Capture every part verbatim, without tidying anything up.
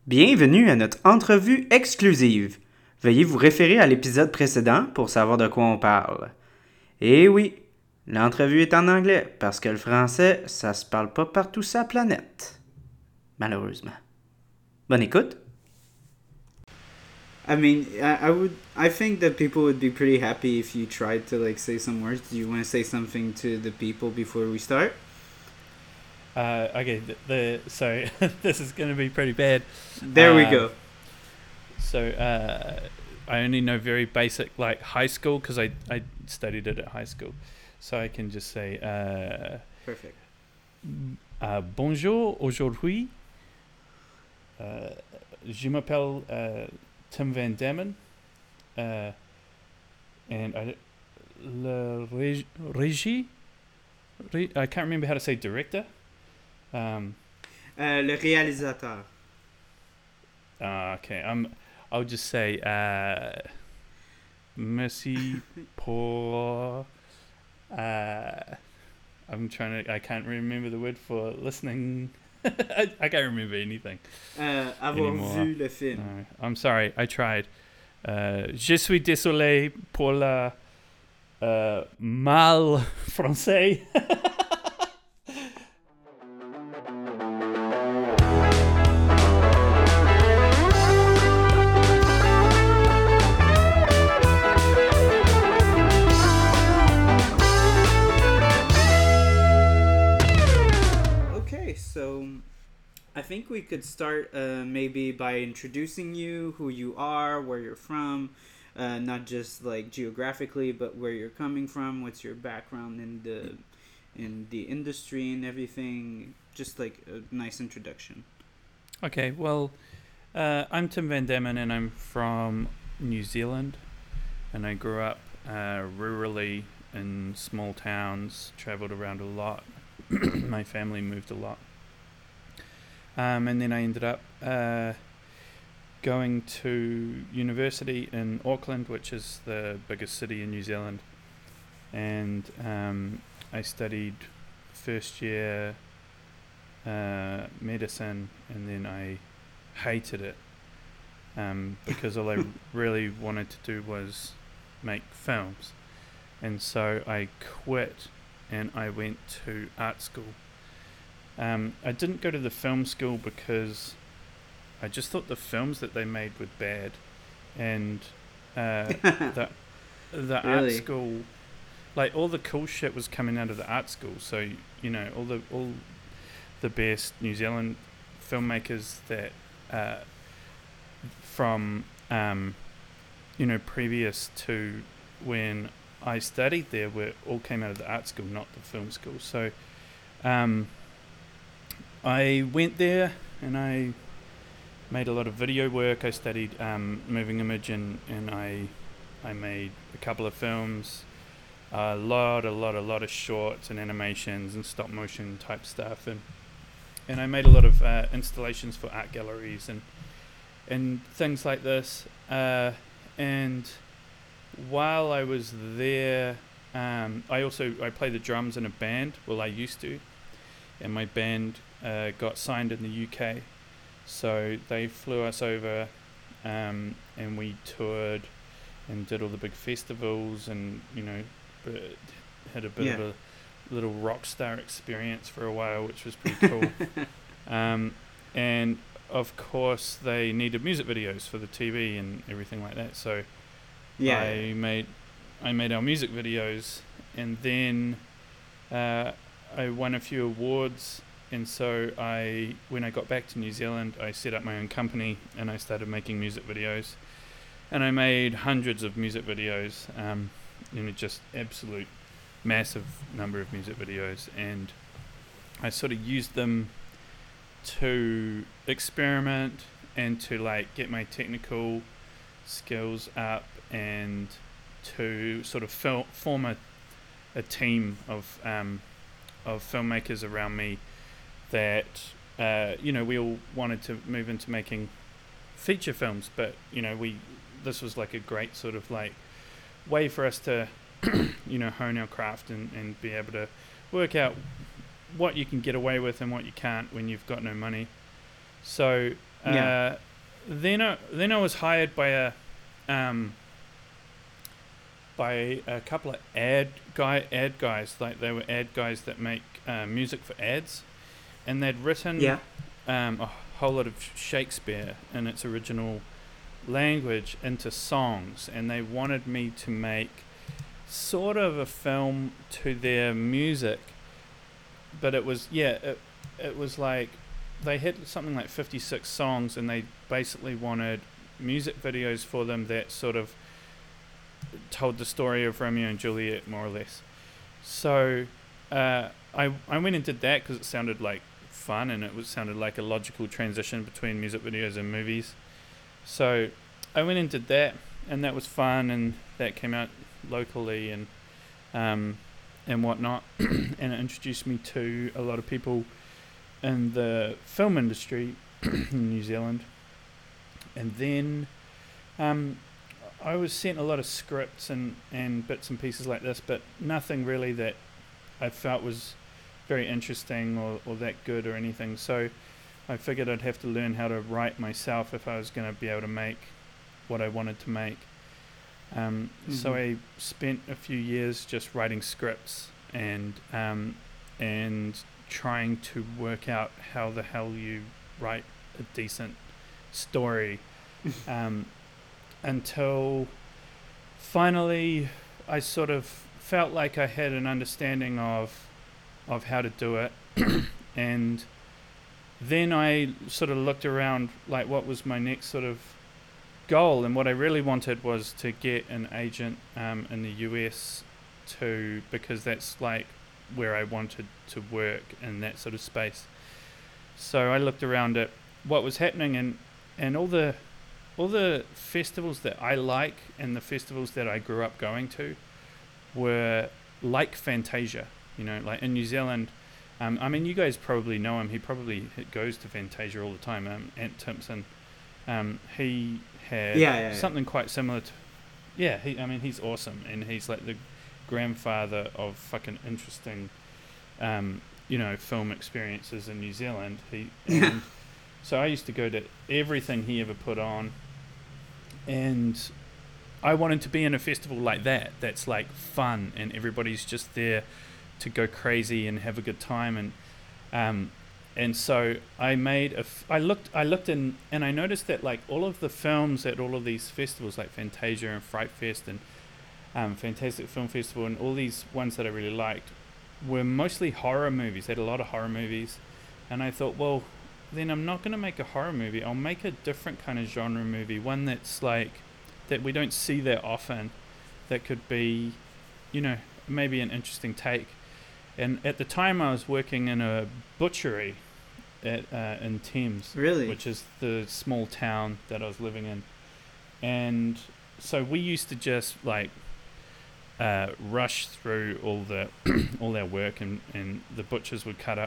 Bienvenue à notre entrevue exclusive. Veuillez vous référer à l'épisode précédent pour savoir de quoi on parle. Et oui, l'entrevue est en anglais parce que le français, ça se parle pas partout sur la planète. Malheureusement. Bonne écoute. I mean, I, I would, I think that people would be pretty happy if you tried to like say some words. Do you want to say something to the people before we start? Uh, okay, the, the so this is going to be pretty bad. There um, we Um, go. So uh, I only know very basic, like high school, because I, I studied it at high school. So I can just say, uh, Perfect. Uh, bonjour, aujourd'hui, uh, je m'appelle uh, Tim Van Dammen, uh, and I, le reg- régie, Re- I can't remember how to say director. Um, uh, le réalisateur. Uh, okay, um, I'll just say uh, merci pour. Uh, I'm trying to. I can't remember the word for listening. I, I can't remember anything. Uh, avoir anymore. vu le film. No, I'm sorry. I tried. Uh, je suis désolé pour la uh, mal français. So I think we could start uh, maybe by introducing you, who you are, where you're from, uh, not just like geographically, but where you're coming from, what's your background in the in the industry and everything. Just like a nice introduction. Okay, well, uh, I'm Tim Van Dammen and I'm from New Zealand, and I grew up uh, rurally in small towns, travelled around a lot. My family moved a lot. Um, and then I ended up uh, going to university in Auckland, which is the biggest city in New Zealand. And um, I studied first year uh, medicine, and then I hated it um, because all I really wanted to do was make films. And so I quit and I went to art school. Um, I didn't go to the film school because I just thought the films that they made were bad, and uh, the the really? art school, like all the cool shit was coming out of the art school. So you know all the all the best New Zealand filmmakers that uh, from um, you know previous to when I studied there were all came out of the art school, not the film school. So. Um, I went there and I made a lot of video work. I studied um, moving image and, and I I made a couple of films, a lot, a lot, a lot of shorts and animations and stop motion type stuff, and and I made a lot of uh, installations for art galleries and and things like this. Uh, and while I was there, um, I also I play the drums in a band. Well, I used to, and my band. Uh, got signed in the U K, so they flew us over um, and we toured and did all the big festivals and you know b- had a bit yeah. of a little rock star experience for a while, which was pretty cool. um, and of course they needed music videos for the T V and everything like that, so yeah. I made I made our music videos, and then uh, I won a few awards. And so I, when I got back to New Zealand, I set up my own company and I started making music videos. And I made hundreds of music videos, um, you know, just absolute massive number of music videos. And I sort of used them to experiment and to like get my technical skills up and to sort of fil- form a, a team of um, of filmmakers around me. That uh, you know we all wanted to move into making feature films, but you know we this was like a great sort of like way for us to you know hone our craft and, and be able to work out what you can get away with and what you can't when you've got no money. So Uh, Yeah. then I, then I was hired by a um, by a couple of ad guy ad guys, like they were ad guys that make uh, music for ads, and they'd written Yeah. um, a whole lot of Shakespeare in its original language into songs, and they wanted me to make sort of a film to their music, but it was yeah it, it was like they had something like fifty-six songs, and they basically wanted music videos for them that sort of told the story of Romeo and Juliet, more or less. So uh, I I went and did that because it sounded like fun, and it was sounded like a logical transition between music videos and movies. So I went and did that, and that was fun, and that came out locally and um, and whatnot, and it introduced me to a lot of people in the film industry in New Zealand. And then um, I was sent a lot of scripts and, and bits and pieces like this, but nothing really that I felt was very interesting or, or that good or anything. So I figured I'd have to learn how to write myself if I was going to be able to make what I wanted to make. Um, mm-hmm. So I spent a few years just writing scripts and um, and trying to work out how the hell you write a decent story um, until finally I sort of felt like I had an understanding of of how to do it. And then I sort of looked around like what was my next sort of goal, and what I really wanted was to get an agent um, in the U S to, because that's like where I wanted to work in that sort of space. So I looked around at what was happening, and and all the all the festivals that I like and the festivals that I grew up going to were like Fantasia, you know, like in New Zealand. Um, I mean, you guys probably know him. He probably goes to Fantasia all the time. Um, Ant Timpson. Um, he had yeah, yeah, something yeah. quite similar to. Yeah, he. I mean, he's awesome, and he's like the grandfather of fucking interesting, um, you know, film experiences in New Zealand. He. And so I used to go to everything he ever put on, and I wanted to be in a festival like that. That's like fun, and everybody's just there to go crazy and have a good time, and um, and so I made a. F- I looked. I looked in, and I noticed that like all of the films at all of these festivals, like Fantasia and Fright Fest and um, Fantastic Film Festival, and all these ones that I really liked, were mostly horror movies. They had a lot of horror movies, and I thought, well, then I'm not going to make a horror movie. I'll make a different kind of genre movie, one that's like that we don't see that often. That could be, you know, maybe an interesting take. And at the time, I was working in a butchery at uh, in Thames, really, which is the small town that I was living in. And so we used to just like uh, rush through all the all our work, and, and the butchers would cut up,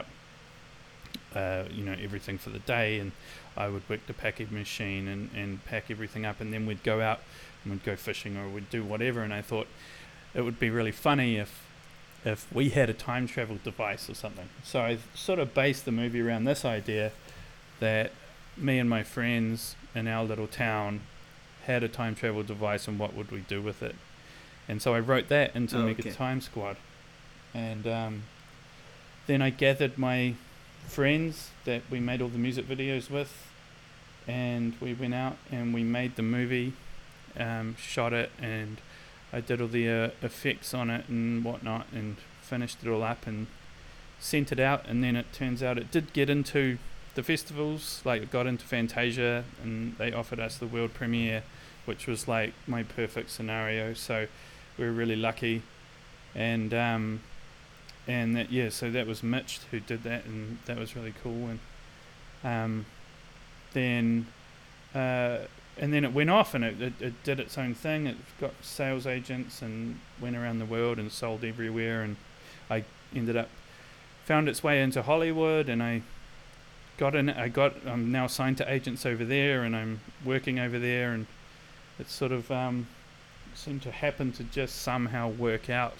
uh, you know, everything for the day, and I would work the packing machine and, and pack everything up, and then we'd go out and we'd go fishing or we'd do whatever. And I thought it would be really funny if if we had a time travel device or something. So I sort of based the movie around this idea that me and my friends in our little town had a time travel device, and what would we do with it. And so I wrote that into oh, Mega okay. Time Squad. And um, then I gathered my friends that we made all the music videos with, and we went out and we made the movie, um, shot it, and I did all the uh, effects on it and whatnot, and finished it all up and sent it out. And then it turns out it did get into the festivals, like it got into Fantasia, and they offered us the world premiere, which was like my perfect scenario. So we were really lucky. And um, and that yeah, so that was Mitch who did that, and that was really cool. And um, then. Uh, And then it went off, and it, it, it did its own thing. It got sales agents and went around the world and sold everywhere. And I ended up found its way into Hollywood, and I got in. I got. I'm now signed to agents over there, and I'm working over there. And it sort of um, seemed to happen to just somehow work out.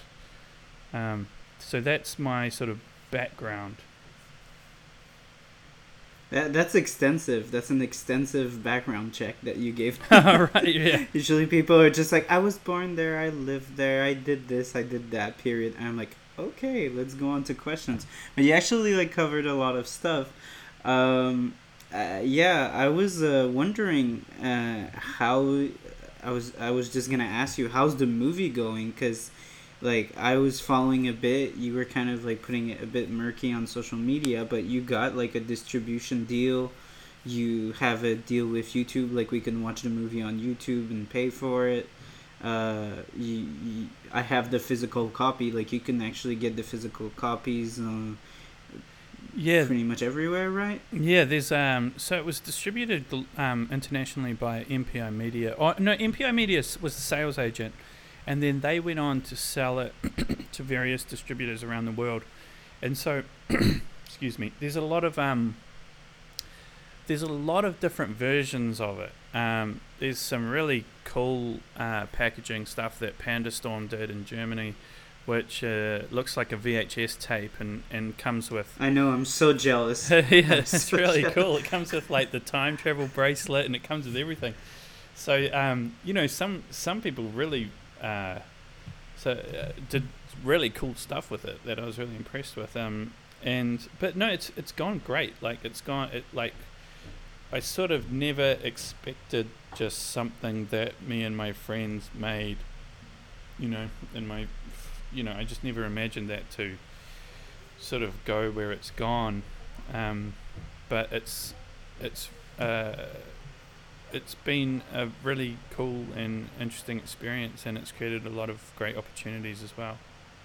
Um, so that's my sort of background. That, that's extensive. That's an extensive background check that you gave. Right, yeah. Usually people are just like, I was born there, I lived there, I did this, I did that, period. And I'm like, okay, let's go on to questions. But you actually like covered a lot of stuff. Um, uh, yeah, I was uh, wondering uh, how. I was I was just gonna ask you, how's the movie going? Cause like I was following a bit. You were kind of like putting it a bit murky on social media, but you got like a distribution deal. You have a deal with YouTube, like we can watch the movie on YouTube and pay for it. Uh, you, you, I have the physical copy. Like you can actually get the physical copies. Uh, Yeah, pretty much everywhere, right? yeah. There's um. So it was distributed um internationally by M P I Media. Oh no, M P I Media s- was the sales agent, and then they went on to sell it to various distributors around the world. And so, excuse me. There's a lot of um. There's a lot of different versions of it. Um, there's some really cool uh, packaging stuff that Pandastorm did in Germany, which uh, looks like a V H S tape and, and comes with... I know, I'm so jealous. yeah, I'm it's so really jealous. cool. It comes with like the time travel bracelet and it comes with everything. So, um, you know, some some people really uh, so uh, did really cool stuff with it that I was really impressed with. Um, and but no, it's it's gone great. Like it's gone it like I sort of never expected just something that me and my friends made. You know, in my you know, I just never imagined that to sort of go where it's gone. Um, but it's it's uh, it's been a really cool and interesting experience, and it's created a lot of great opportunities as well.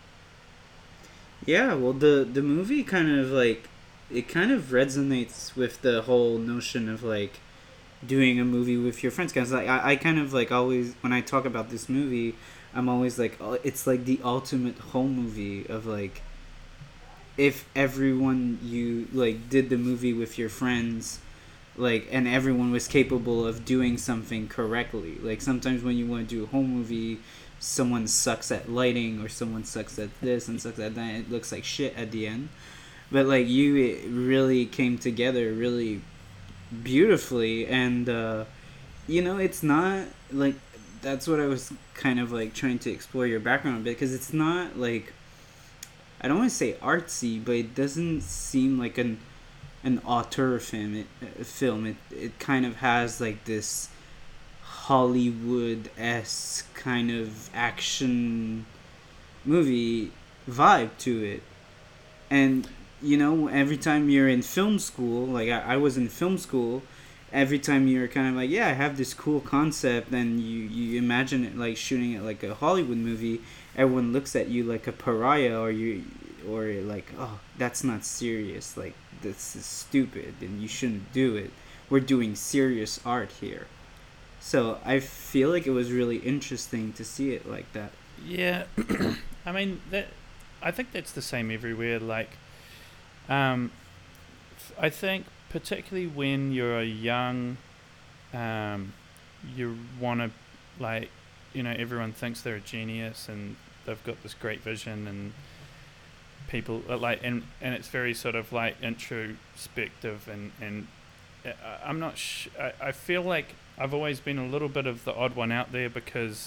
Yeah, well, the the movie kind of like it kind of resonates with the whole notion of like doing a movie with your friends. Cause like I, I kind of like always when I talk about this movie, I'm always like, oh, it's like the ultimate home movie of like if everyone you like did the movie with your friends, like and everyone was capable of doing something correctly. Like sometimes when you want to do a home movie, someone sucks at lighting or someone sucks at this and sucks at that. It looks like shit at the end. But like you, it really came together really beautifully, and uh, you know, it's not like that's what I was kind of like trying to explore your background a bit because it's not like I don't want to say artsy, but it doesn't seem like an an auteur film. It, uh, film. It it kind of has like this Hollywood esque kind of action movie vibe to it, and you know every time you're in film school, like I, I was in film school, every time you're kind of like, yeah, I have this cool concept, and you you imagine it like shooting it like a Hollywood movie, everyone looks at you like a pariah, or you or like, oh, that's not serious, like this is stupid and you shouldn't do it, we're doing serious art here. So I feel like it was really interesting to see it like that. Yeah, I mean that. I think that's the same everywhere. Like, um, f- I think particularly when you're a young, um, you want to, like, you know, everyone thinks they're a genius and they've got this great vision and people are like, and and it's very sort of like introspective and and uh, I'm not. Sh- I I feel like I've always been a little bit of the odd one out there because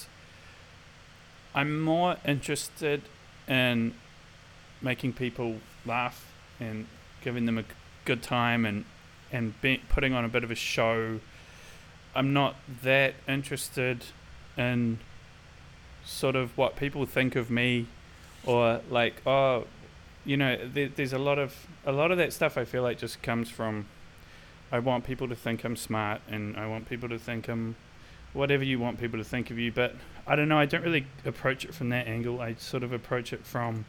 I'm more interested in making people laugh and giving them a g- good time and and be, putting on a bit of a show. I'm not that interested in sort of what people think of me or like, oh, you know, there, there's a lot of a lot of that stuff I feel like just comes from I want people to think I'm smart and I want people to think I'm whatever you want people to think of you, but I don't know, I don't really approach it from that angle. I sort of approach it from,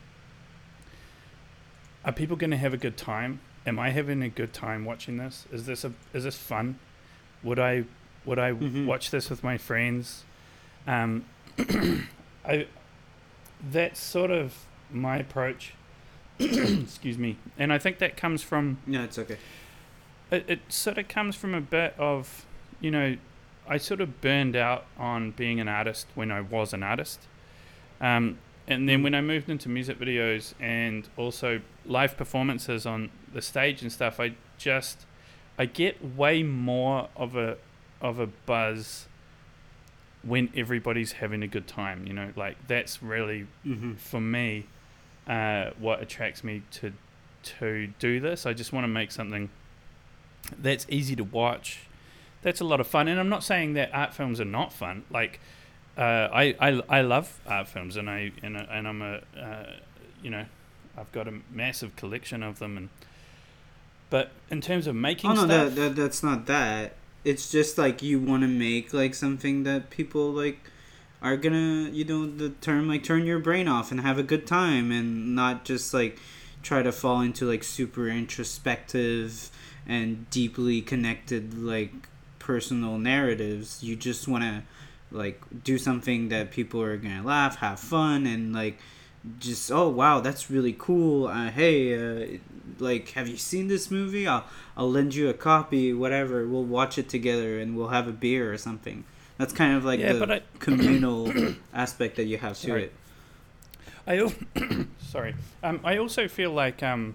are people going to have a good time? Am I having a good time watching this? Is this a is this fun? Would I would I Mm-hmm. watch this with my friends? Um, I that's sort of my approach. Excuse me, and I think that comes from No, it's okay. it, it sort of comes from a bit of, you know, I sort of burned out on being an artist when I was an artist. Um, and then when I moved into music videos and also live performances on the stage and stuff, I just I get way more of a of a buzz when everybody's having a good time. You know, like that's really Mm-hmm. for me uh, what attracts me to to do this. I just want to make something that's easy to watch, that's a lot of fun. And I'm not saying that art films are not fun. Like uh, I, I I love art films, and I and, I- and I'm a uh, you know I've got a massive collection of them. And but in terms of making Oh no, stuff, that, that that's not that. It's just like you want to make like something that people like are gonna, you know, the term like turn your brain off and have a good time, and not just like try to fall into like super introspective and deeply connected like personal narratives. You just want to like do something that people are gonna laugh, have fun, and like just, oh wow, that's really cool. Uh, hey, uh, like, have you seen this movie? I'll I'll lend you a copy. Whatever, we'll watch it together and we'll have a beer or something. That's kind of like yeah. the But I communal aspect that you have to Sorry. it. I al- sorry. Um, I also feel like um,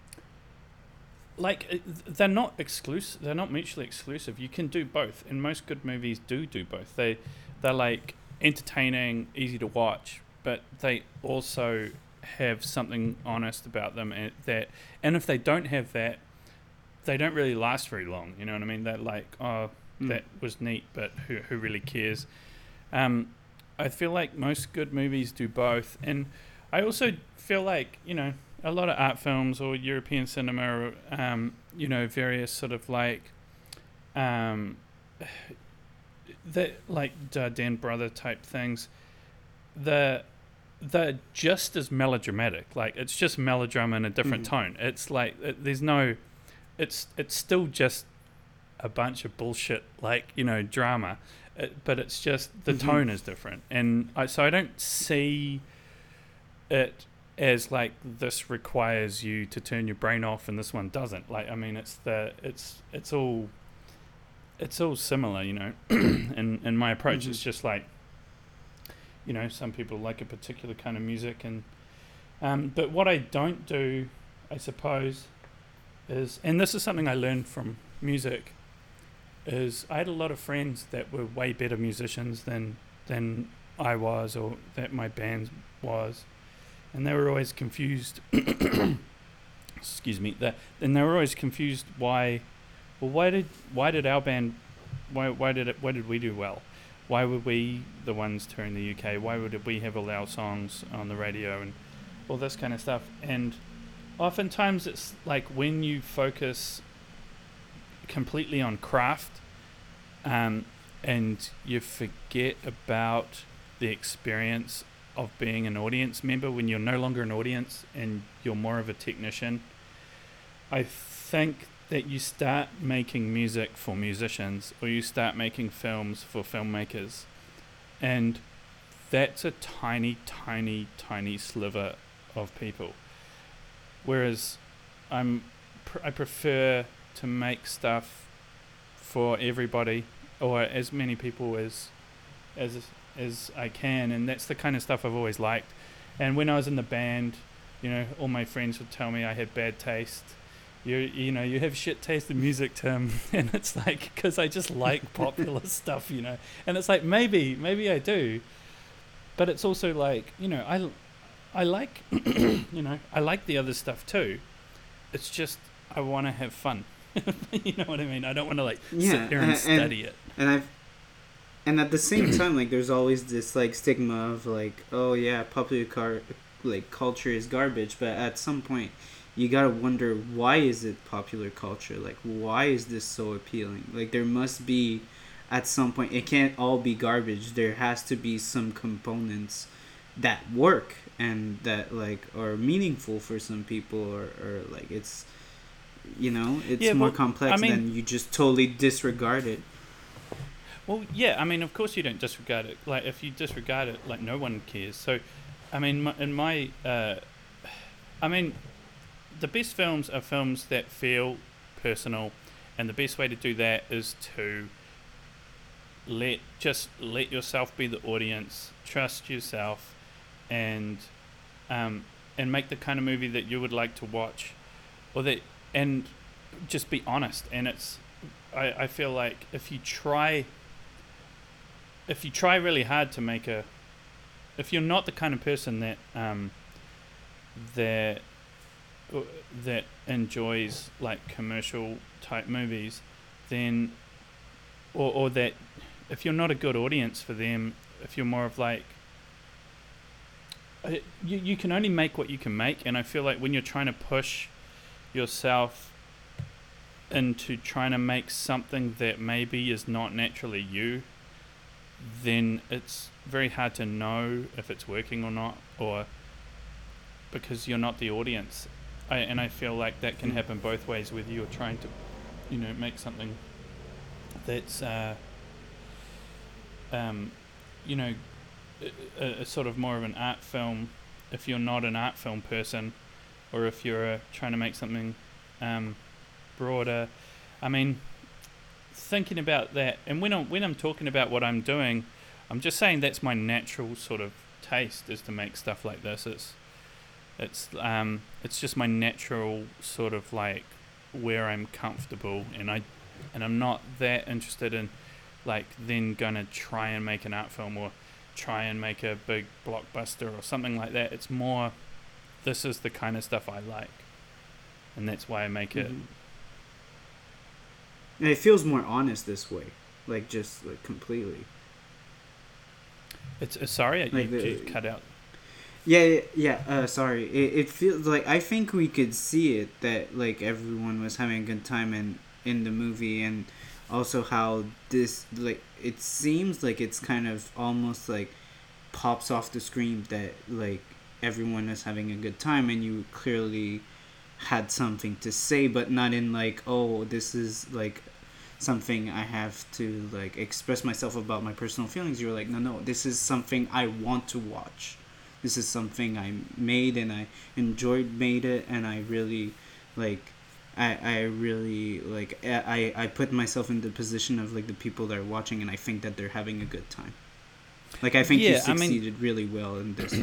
like uh, they're not exclusive. They're not mutually exclusive. You can do both, and most good movies do do both. They they're like entertaining, easy to watch, but they also have something honest about them, and that. And if they don't have that, they don't really last very long. You know what I mean? They're like, oh, Mm. that was neat, but who who really cares? Um, I feel like most good movies do both, and I also feel like, you know, a lot of art films or European cinema, or, um, you know, various sort of like, um, the like Dardenne brother type things, the they're just as melodramatic. Like it's just melodrama in a different Mhm. tone. It's like it, there's no, it's it's still just a bunch of bullshit, like, you know, drama, it, but it's just the Mhm. tone is different. And I, so I don't see it as like this requires you to turn your brain off and this one doesn't. Like, I mean, it's the it's it's all it's all similar, you know. and and my approach Mhm. is just like, you know, some people like a particular kind of music, and um but what I don't do, I suppose, is, and this is something I learned from music, is I had a lot of friends that were way better musicians than than I was, or that my band was, and they were always confused. Excuse me. That and they were always confused why. Well, why did why did our band, why why did it why did we do well? Why were we the ones touring the U K? Why would we have all our songs on the radio and all this kind of stuff? And oftentimes it's like when you focus completely on craft, um, and you forget about the experience of being an audience member when you're no longer an audience and you're more of a technician. I think that you start making music for musicians, or you start making films for filmmakers, and that's a tiny, tiny, tiny sliver of people. Whereas I'm, pr- I prefer to make stuff for everybody, or as many people as as as I can, and that's the kind of stuff I've always liked. And when I was in the band, you know, all my friends would tell me I had bad taste. You you know, you have shit taste in music, Tim. And it's like, because I just like popular stuff, you know. And it's like, maybe maybe I do, but it's also like, you know, I I like you know, I like the other stuff too. It's just I want to have fun. You know what I mean? I don't want to like Yeah, sit there and, and- study it. And I've and at the same time, like, there's always this like stigma of like, oh yeah, popular car like culture is garbage. But at some point, you gotta wonder, why is it popular culture? Like, why is this so appealing? Like, there must be, at some point, it can't all be garbage. There has to be some components that work and that like are meaningful for some people, or, or like it's, you know, it's Yeah, more well, complex I mean- than you just totally disregard it. Well, yeah, I mean, of course you don't disregard it. Like, if you disregard it, like, no one cares. So, I mean, my, in my, uh, I mean, the best films are films that feel personal, and the best way to do that is to let just let yourself be the audience, trust yourself, and um, and make the kind of movie that you would like to watch, or that, and just be honest. And it's I, I feel like if you try if you try really hard to make a if you're not the kind of person that um that that enjoys like commercial type movies, then or or that if you're not a good audience for them, if you're more of like uh, you you can only make what you can make. And I feel like when you're trying to push yourself into trying to make something that maybe is not naturally you, then it's very hard to know if it's working or not, or because you're not the audience. I, and I feel like that can happen both ways, whether you're trying to, you know, make something that's, uh, um, you know, a, a sort of more of an art film, if you're not an art film person, or if you're uh, trying to make something um, broader. I mean, thinking about that, and when I'm, when I'm talking about what I'm doing, I'm just saying that's my natural sort of taste, is to make stuff like this. It's it's um it's just my natural sort of like where I'm comfortable, and I and I'm not that interested in like then gonna try and make an art film or try and make a big blockbuster or something like that. It's more, this is the kind of stuff I like, and that's why I make mm-hmm. it. And it feels more honest this way, like just like completely. It's uh, sorry, like you, the, you cut out. Yeah, yeah, yeah uh, sorry. It it feels like, I think we could see it, that like everyone was having a good time in in the movie, and also how this, like, it seems like it's kind of almost like pops off the screen that like everyone is having a good time, and you clearly had something to say, but not in like, oh, this is like something I have to like express myself about my personal feelings. You're like, no, no, this is something I want to watch. This is something I made and I enjoyed made it, and I really like I I really like I, I put myself in the position of like the people that are watching, and I think that they're having a good time. Like I think yeah, you succeeded I mean, really well in this.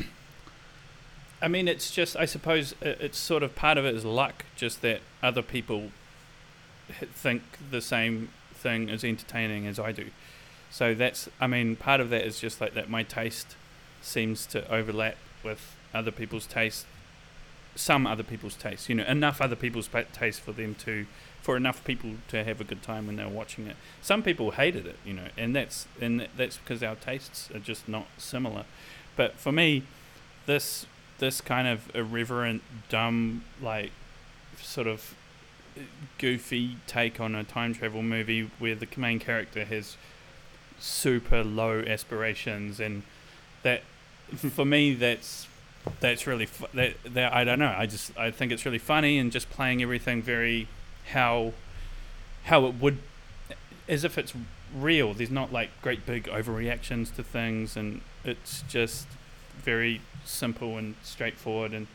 I mean, it's just, I suppose it's sort of part of it is luck, just that other people think the same thing as entertaining as I do. So that's, I mean, part of that is just like that my taste seems to overlap with other people's taste, some other people's taste, you know, enough other people's taste for them to, for enough people to have a good time when they're watching it. Some people hated it, you know, and that's, and that's because our tastes are just not similar. But for me, this, this kind of irreverent, dumb, like, sort of goofy take on a time travel movie where the main character has super low aspirations, and that, for me, that's that's really fu- that that I don't know. I just I think it's really funny, and just playing everything very how how it would, as if it's real. There's not like great big overreactions to things, and it's just very simple and straightforward, and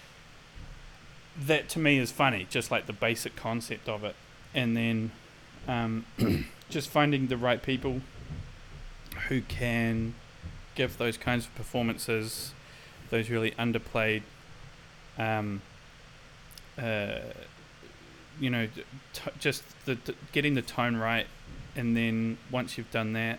that to me is funny, just like the basic concept of it. And then um, just finding the right people who can give those kinds of performances, those really underplayed um, uh, you know t- just the t- getting the tone right, and then once you've done that,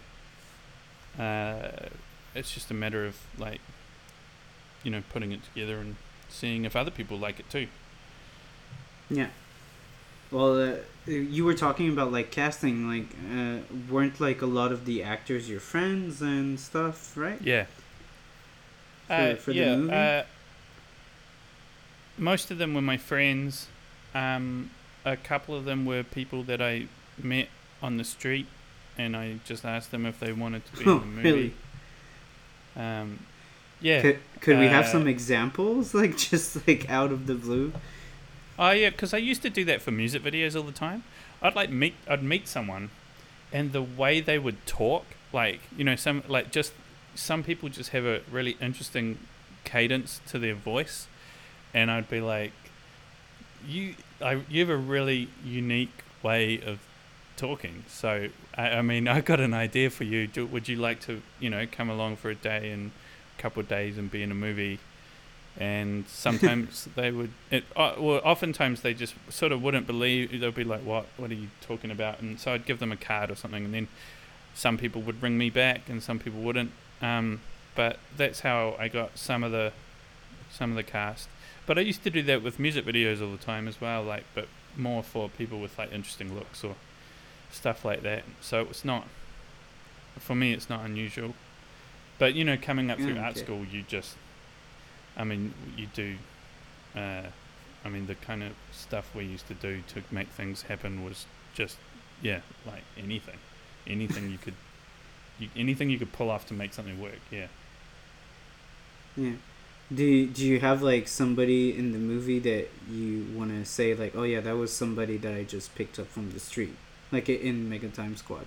uh, it's just a matter of like, you know, putting it together and seeing if other people like it too. Yeah. Well, uh, you were talking about like casting, like uh, weren't like a lot of the actors your friends and stuff, right? Yeah. For, uh, for yeah. the movie? Uh, most of them were my friends. Um, a couple of them were people that I met on the street, and I just asked them if they wanted to be oh, in the movie. Really? Um, yeah. Could, could we uh, have some examples, like just like out of the blue? Oh yeah, because I used to do that for music videos all the time. I'd like meet, I'd meet someone, and the way they would talk, like, you know, some like just some people just have a really interesting cadence to their voice, and I'd be like, you, I, you have a really unique way of talking. So I, I mean, I got an idea for you. Do, would you like to, you know, come along for a day and a couple of days and be in a movie? And sometimes they would, it, uh, well, oftentimes they just sort of wouldn't believe. They'll be like, "What? What are you talking about?" And so I'd give them a card or something, and then some people would ring me back, and some people wouldn't. Um, but that's how I got some of the some of the cast. But I used to do that with music videos all the time as well, like, but more for people with like interesting looks or stuff like that. So it's not, for me, it's not unusual. But you know, coming up through Mm, art okay. school, you just, I mean, you do. Uh, I mean, the kind of stuff we used to do to make things happen was just, yeah, like anything, anything you could, you, anything you could pull off to make something work. Yeah. Yeah. Do you, do you have like somebody in the movie that you want to say like, oh yeah, that was somebody that I just picked up from the street, like i- in Mega Time Squad?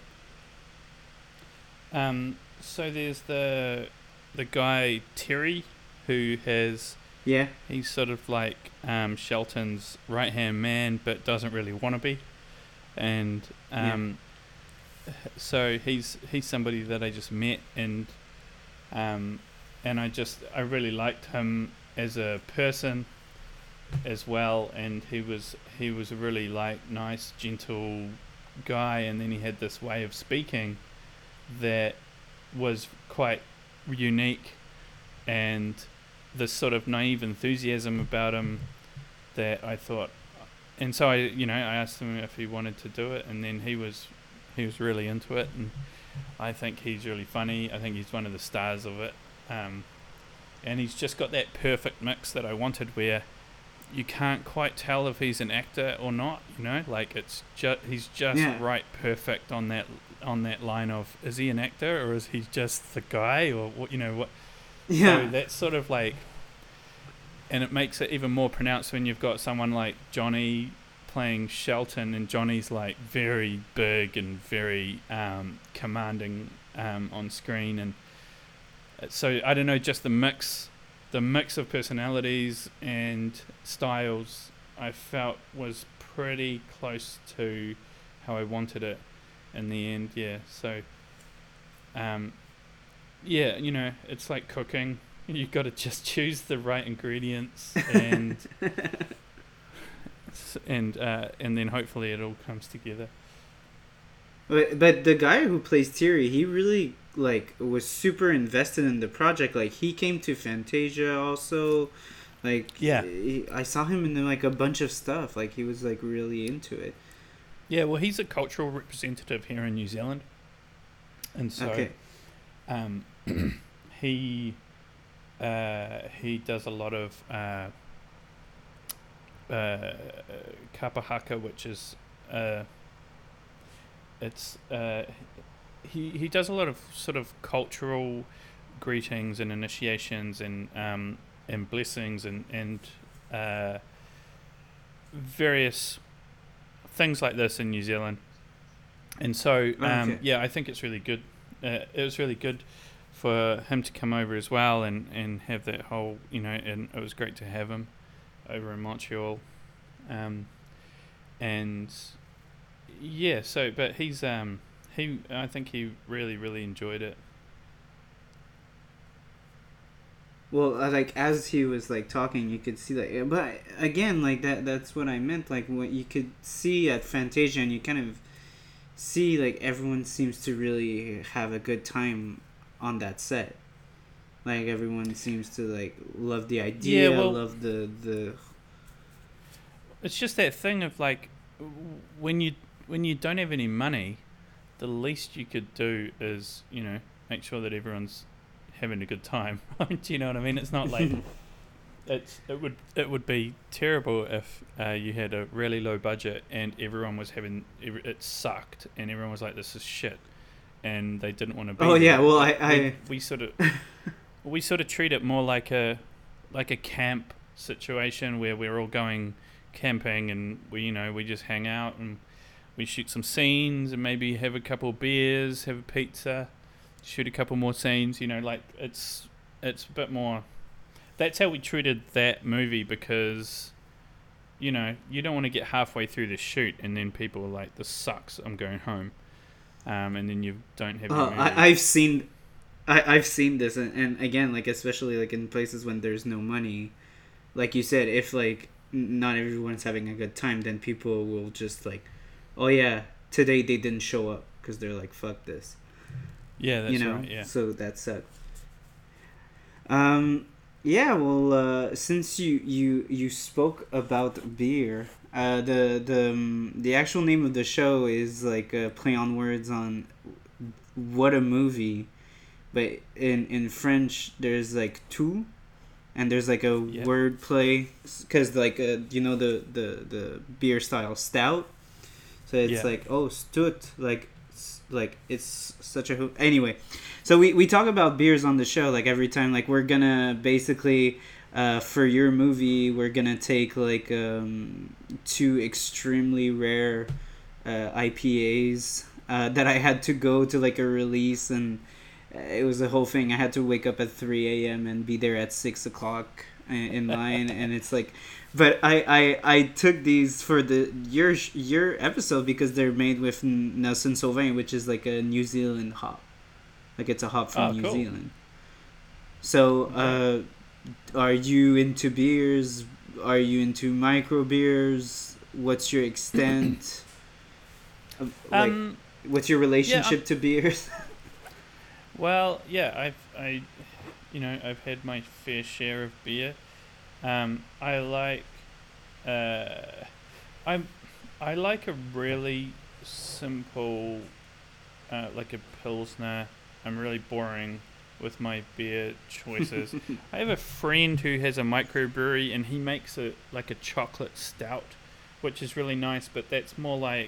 Um. So there's the the guy Terry, who has Yeah. he's sort of like um, Shelton's right hand man, but doesn't really want to be, and um, so he's he's somebody that I just met, and um, and I just I really liked him as a person as well, and he was he was a really like nice, gentle guy, and then he had this way of speaking that was quite unique, and this sort of naive enthusiasm about him that I thought, and so I you know I asked him if he wanted to do it, and then he was he was really into it, and I think he's really funny. I think he's one of the stars of it, um, and he's just got that perfect mix that I wanted, where you can't quite tell if he's an actor or not. You know, like it's just he's just Yeah. right, perfect on that on that line of, is he an actor or is he just the guy, or what? You know what? Yeah. So that's sort of like, and it makes it even more pronounced when you've got someone like Johnny playing Shelton, and Johnny's like very big and very um, commanding um, on screen, and so I don't know, just the mix, the mix of personalities and styles, I felt was pretty close to how I wanted it in the end. Yeah, so um, yeah, you know, it's like cooking. You've got to just choose the right ingredients, and and uh, and then hopefully it all comes together. But but the guy who plays Thierry, he really like was super invested in the project. Like he came to Fantasia also. Like Yeah. he, I saw him in like a bunch of stuff. Like he was like really into it. Yeah, well, he's a cultural representative here in New Zealand, and so Okay. um, he uh, he does a lot of uh, uh, kapahaka, which is uh, it's uh, he he does a lot of sort of cultural greetings and initiations and um, and blessings and and uh, various things like this in New Zealand. And so Oh, um, okay. yeah, I think it's really good. Uh, it was really good for him to come over as well, and, and have that whole, you know, and it was great to have him over in Montreal. Um, and yeah, so but he's um he I think he really really enjoyed it. Well, uh, like as he was like talking, you could see like, but again, like that. That's what I meant. Like what you could see at Fantasia, and you kind of see like everyone seems to really have a good time on that set. Like everyone seems to like love the idea, Yeah, well- love the the. It's just that thing of like, w- when you when you don't have any money, the least you could do is, you know, make sure that everyone's having a good time. Do you know what I mean? It's not like it's it would it would be terrible if uh, you had a really low budget and everyone was having every- it sucked and everyone was like, this is shit, and they didn't want to be Oh, there. yeah, well, But I- we, I- we sort of we sort of treat it more like a like a camp situation where we're all going camping, and we you know we just hang out and we shoot some scenes and maybe have a couple of beers, have a pizza, shoot a couple more scenes. You know, like it's it's a bit more. That's how we treated that movie, because you know you don't want to get halfway through the shoot and then people are like, this sucks, I'm going home, um, and then you don't have your Oh, movie. I, I've seen, I I've seen this, and, and again, like especially like in places when there's no money, like you said, if like n- not everyone's having a good time, then people will just like, oh yeah, today they didn't show up because they're like, fuck this, Yeah, you that's know. right. Yeah. So that sucks. Um, yeah. Well, uh, since you you you spoke about beer, uh, the the um, the actual name of the show is like a play on words on what a movie, but in in French there's like two, and there's like a Yeah. word play because like uh, you know the the the beer style stout, so it's Yeah. like oh stout like s- like it's such a ho- anyway. So we we talk about beers on the show like every time, like we're gonna basically uh, for your movie we're gonna take like um, two extremely rare uh, I P As uh, that I had to go to like a release, and uh, it was a whole thing. I had to wake up at three a m and be there at six o'clock i- in line, and it's like, but I, I I took these for the your sh- your episode because they're made with N- Nelson Sauvin, which is like a New Zealand hop, like it's a hop from Oh, New cool. Zealand. So, Okay. uh, are you into beers? Are you into micro beers? What's your extent? Of, like, Um. what's your Yeah. I'm, relationship to beers? well. Yeah. I've. I. You know. I've had my fair share of beer. Um. I like. Uh. I'm. I like a really simple. Uh, like a pilsner. I'm really boring with my beer choices. I have a friend who has a microbrewery and he makes a like a chocolate stout, which is really nice. But that's more like,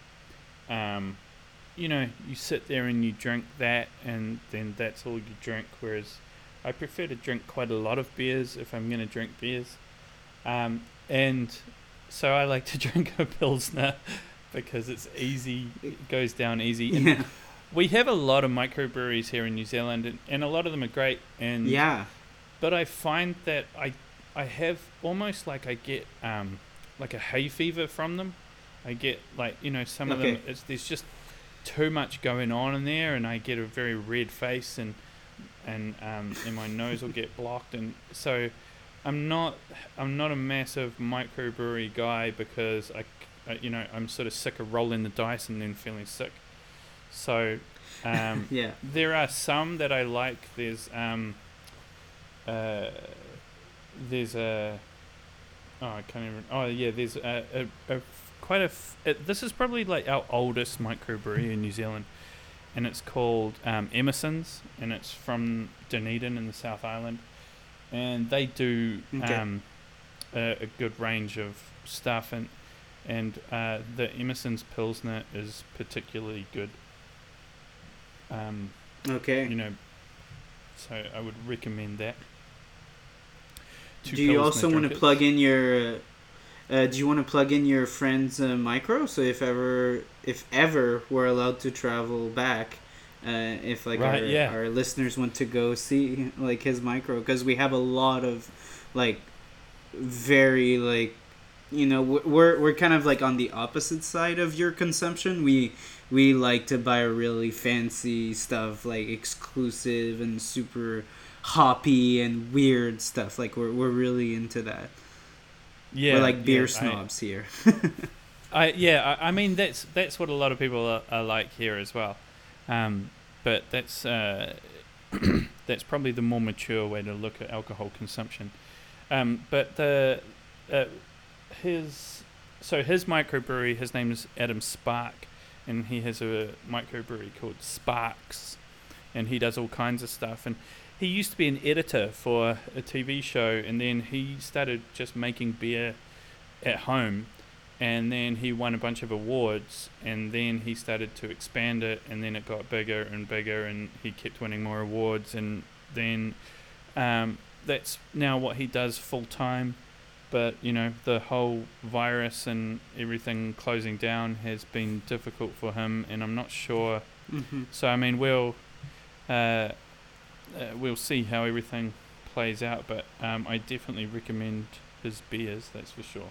um, you know, you sit there and you drink that, and then that's all you drink. Whereas I prefer to drink quite a lot of beers if I'm going to drink beers, um, and so I like to drink a pilsner because it's easy, it goes down easy, and Yeah. we have a lot of microbreweries here in New Zealand, and, and a lot of them are great. And Yeah. but I find that I I have almost like I get um like a hay fever from them. I get like you know some of them Okay. it's there's just too much going on in there, and I get a very red face, and and um and my nose will get blocked, and so I'm not I'm not a massive microbrewery guy because I, I you know I'm sort of sick of rolling the dice and then feeling sick. So um, Yeah. there are some that I like. There's um, uh, there's a oh I can't even oh yeah there's a, a, a quite a f- it, this is probably like our oldest microbrewery in New Zealand, and it's called um, Emerson's, and it's from Dunedin in the South Island, and they do Okay. um, a, a good range of stuff, and and uh, the Emerson's Pilsner is particularly good. Um, Okay. you know, so I would recommend that. Two Do you Pilsner also want to drinkers. plug in your? Uh, uh, do you want to plug in your friend's uh, micro? So if ever, if ever we're allowed to travel back, uh, if like Right, our yeah. our listeners want to go see like his micro, because we have a lot of like very like you know w- we're we're kind of like on the opposite side of your consumption. We we like to buy really fancy stuff, like exclusive and super hoppy and weird stuff. Like we're we're really into that. We're Yeah, like yeah. beer I, snobs here. I yeah. I, I mean, that's that's what a lot of people are, are like here as well. Um, but that's uh, that's probably the more mature way to look at alcohol consumption. Um, but the uh, his so his microbrewery, his name is Adam Spark, and he has a microbrewery called Sparks, and he does all kinds of stuff. And he used to be an editor for a T V show, and then he started just making beer at home, and then he won a bunch of awards, and then he started to expand it, and then it got bigger and bigger, and he kept winning more awards, and then um, that's now what he does full time. But you know, the whole virus and everything closing down has been difficult for him, and I'm not sure. hmm So I mean, we'll uh, uh, we'll see how everything plays out. But um, I definitely recommend his beers. That's for sure.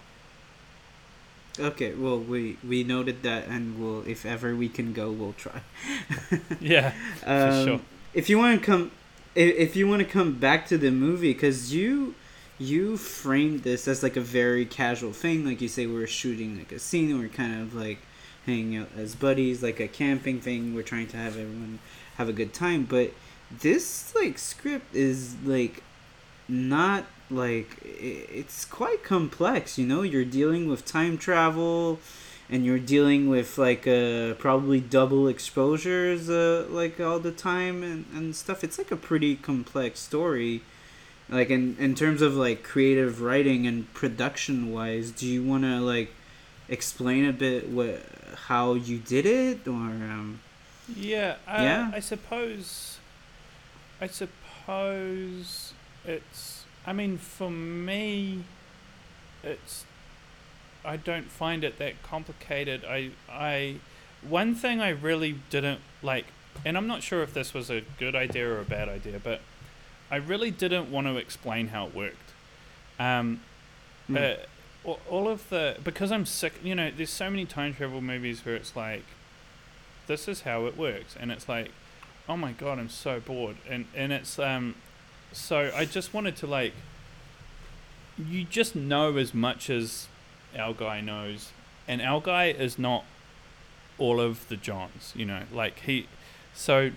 Okay, well we we noted that, and we'll if ever we can go, we'll try. Yeah, for um, sure. if you want to come, if, if you want to come back to the movie, because you you framed this as like a very casual thing, like you say, we were shooting like a scene, we're kind of like hanging out as buddies, like a camping thing. We're trying to have everyone have a good time, but this like script is like not like it's quite complex, you know. You're dealing with time travel, and you're dealing with like uh probably double exposures uh like all the time, and, and stuff. It's like a pretty complex story, like in in terms of like creative writing and production wise. Do you want to like explain a bit what how you did it, or um Yeah, uh, yeah I suppose. I suppose it's. I mean, for me, it's. I don't find it that complicated. I. I. One thing I really didn't like, and I'm not sure if this was a good idea or a bad idea, but I really didn't want to explain how it worked. Um, mm. uh, all- all of the because I'm sick. You know, there's so many time travel movies where it's like, this is how it works, and it's like, oh my god, I'm so bored, and and it's um, so I just wanted to like, you just know as much as our guy knows, and our guy is not all of the Johns, you know, like he, so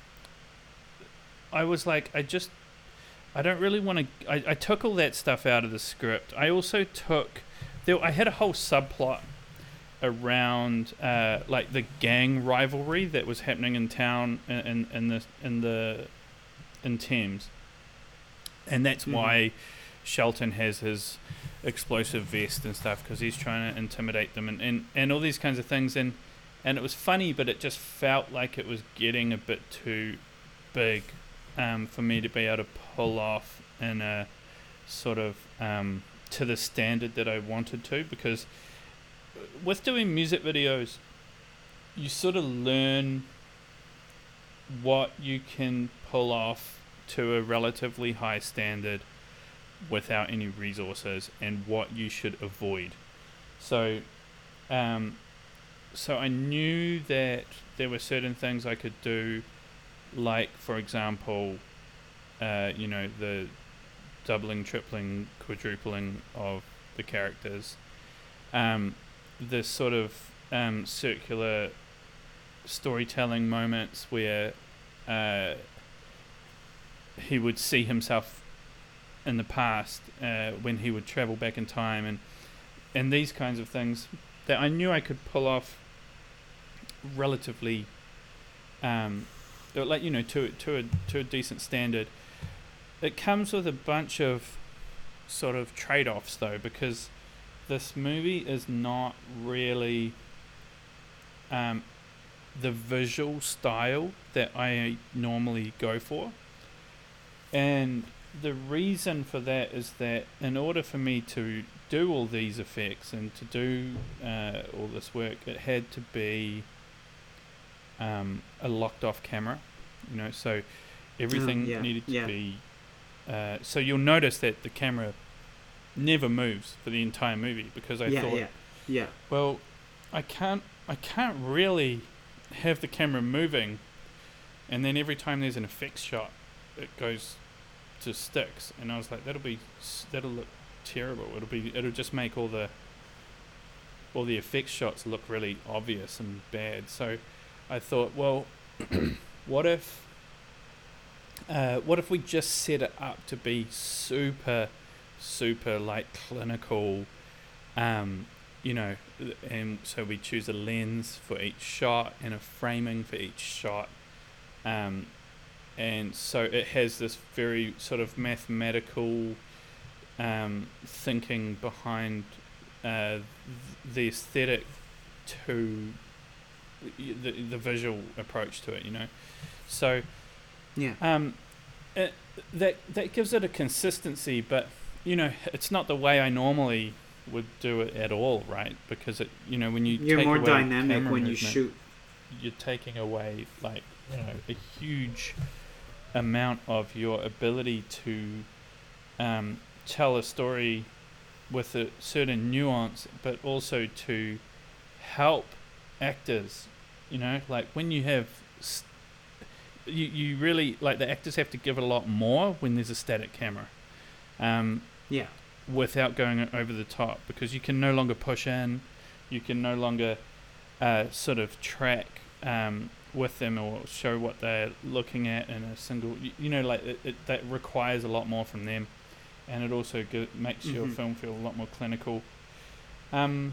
I was like, I just, I don't really want to, I, I took all that stuff out of the script. I also took, there, I had a whole subplot around uh, like the gang rivalry that was happening in town in, in, in the in the in Thames, and that's mm-hmm. why Shelton has his explosive vest and stuff, because he's trying to intimidate them, and, and, and all these kinds of things, and and it was funny, but it just felt like it was getting a bit too big um, for me to be able to pull off in a sort of um, to the standard that I wanted to, because with doing music videos, you sort of learn what you can pull off to a relatively high standard without any resources, and what you should avoid. So, um, so I knew that there were certain things I could do, like, for example, uh, you know, the doubling, tripling, quadrupling of the characters. Um, this sort of um, circular storytelling moments where uh, he would see himself in the past uh, when he would travel back in time, and and these kinds of things that I knew I could pull off relatively, um, like, you know, to to a to a decent standard. It comes with a bunch of sort of trade-offs though, because this movie is not really um, the visual style that I normally go for. And the reason for that is that in order for me to do all these effects and to do uh, all this work, it had to be um, a locked off camera, you know, so everything oh, yeah, needed to yeah. be... Uh, so you'll notice that the camera never moves for the entire movie, because I yeah, thought, yeah, yeah. well, I can't, I can't really have the camera moving, and then every time there's an effects shot, it goes to sticks, and I was like, that'll be, that'll look terrible. It'll be, it'll just make all the, all the effects shots look really obvious and bad. So I thought, well, what if, uh, what if we just set it up to be super, super like clinical, um, you know, and so we choose a lens for each shot and a framing for each shot, um, and so it has this very sort of mathematical um, thinking behind uh, th- the aesthetic to the the visual approach to it, you know, so yeah, um, it, that that gives it a consistency, but you know, it's not the way I normally would do it at all, right? Because it, you know, when you you're take more away dynamic camera when you movement, shoot. you're taking away, like, you know, a huge amount of your ability to um, tell a story with a certain nuance, but also to help actors, you know, like when you have st- you, you really like the actors have to give a lot more when there's a static camera, um, yeah, without going over the top, because you can no longer push in, you can no longer uh, sort of track um, with them or show what they're looking at in a single. You, you know, like it, it, that requires a lot more from them, and it also go, makes mm-hmm. your film feel a lot more clinical. Um,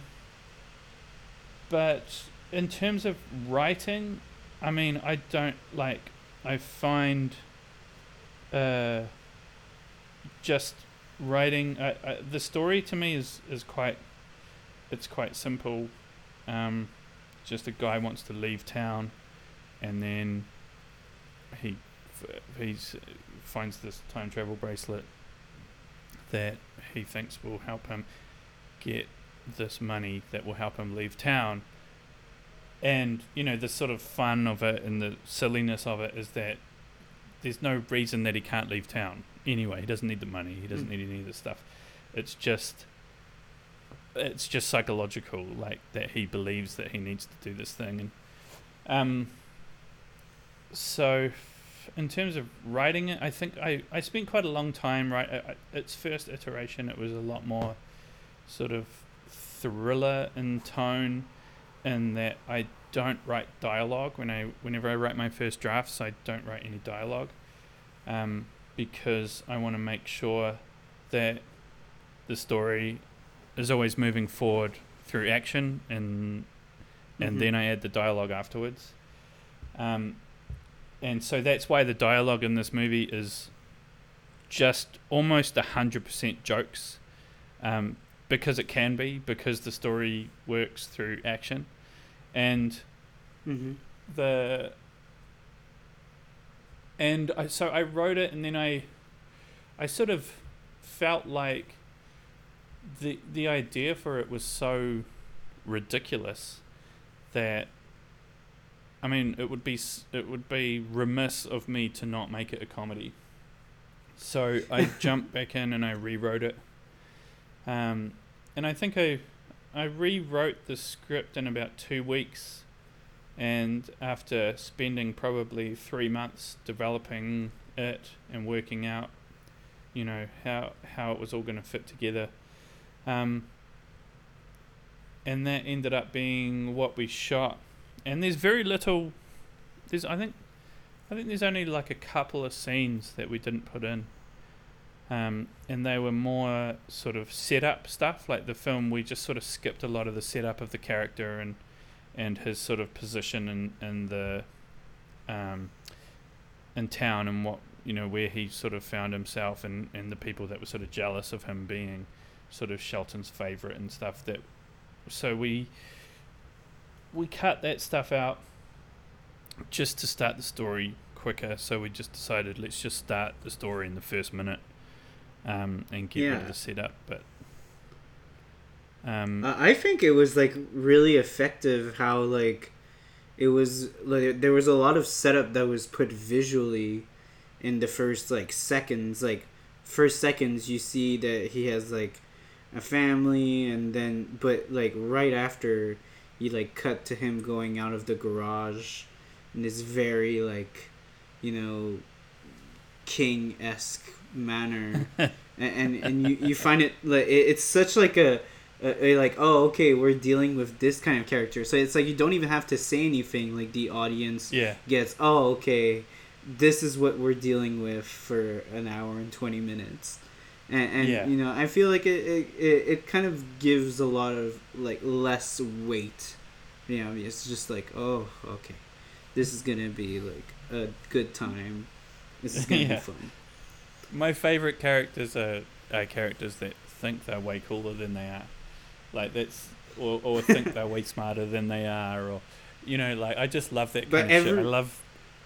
but in terms of writing, I mean, I don't like. I find uh, just writing uh, uh, the story to me is, is quite. It's quite simple. Um, just a guy wants to leave town, and then he he finds this time travel bracelet that he thinks will help him get this money that will help him leave town. And, you know, the sort of fun of it and the silliness of it is that there's no reason that he can't leave town. Anyway, he doesn't need the money. He doesn't mm. need any of this stuff. It's just, it's just psychological, like, that he believes that he needs to do this thing. And um, so, in terms of writing it, I think I, I spent quite a long time, right? I, I, its first iteration, it was a lot more sort of thriller in tone, in that I don't write dialogue when I whenever I write my first drafts. I don't write any dialogue, um, because I want to make sure that the story is always moving forward through action, and and mm-hmm. then I add the dialogue afterwards. Um, and so that's why the dialogue in this movie is just almost a hundred percent jokes, um, because it can be, because the story works through action. And mm-hmm. the and I so I wrote it, and then I I sort of felt like the the idea for it was so ridiculous that, I mean, it would be it would be remiss of me to not make it a comedy. So I jumped back in and I rewrote it, um, and I think I. I rewrote the script in about two weeks, and after spending probably three months developing it and working out, you know, how how it was all going to fit together, um, and that ended up being what we shot. And there's very little. There's I think, I think there's only like a couple of scenes that we didn't put in. Um, and they were more sort of setup stuff. Like the film, we just sort of skipped a lot of the setup of the character and and his sort of position in, in the um, in town, and what, you know, where he sort of found himself, and, and the people that were sort of jealous of him being sort of Shelton's favourite and stuff. That so we we cut that stuff out just to start the story quicker. So we just decided, let's just start the story in the first minute. Um, and get yeah. rid of the setup, but um, uh, I think it was like really effective how like it was like there was a lot of setup that was put visually in the first like seconds. Like first seconds you see that he has like a family, and then but like right after you like cut to him going out of the garage in this very like, you know, King-esque manner. and, and and you you find it like it, it's such like a, a, a like oh okay, we're dealing with this kind of character, so it's like you don't even have to say anything, like the audience yeah. gets, oh okay, this is what we're dealing with for an hour and twenty minutes. And, and yeah. you know, I feel like it, it, it, it kind of gives a lot of like less weight. You know, it's just like, oh okay, this is gonna be like a good time, this is gonna yeah. be fun. My favourite characters are, are characters that think they're way cooler than they are. Like, that's... Or, or think they're way smarter than they are, or... You know, like, I just love that kind but of every, shit. I love...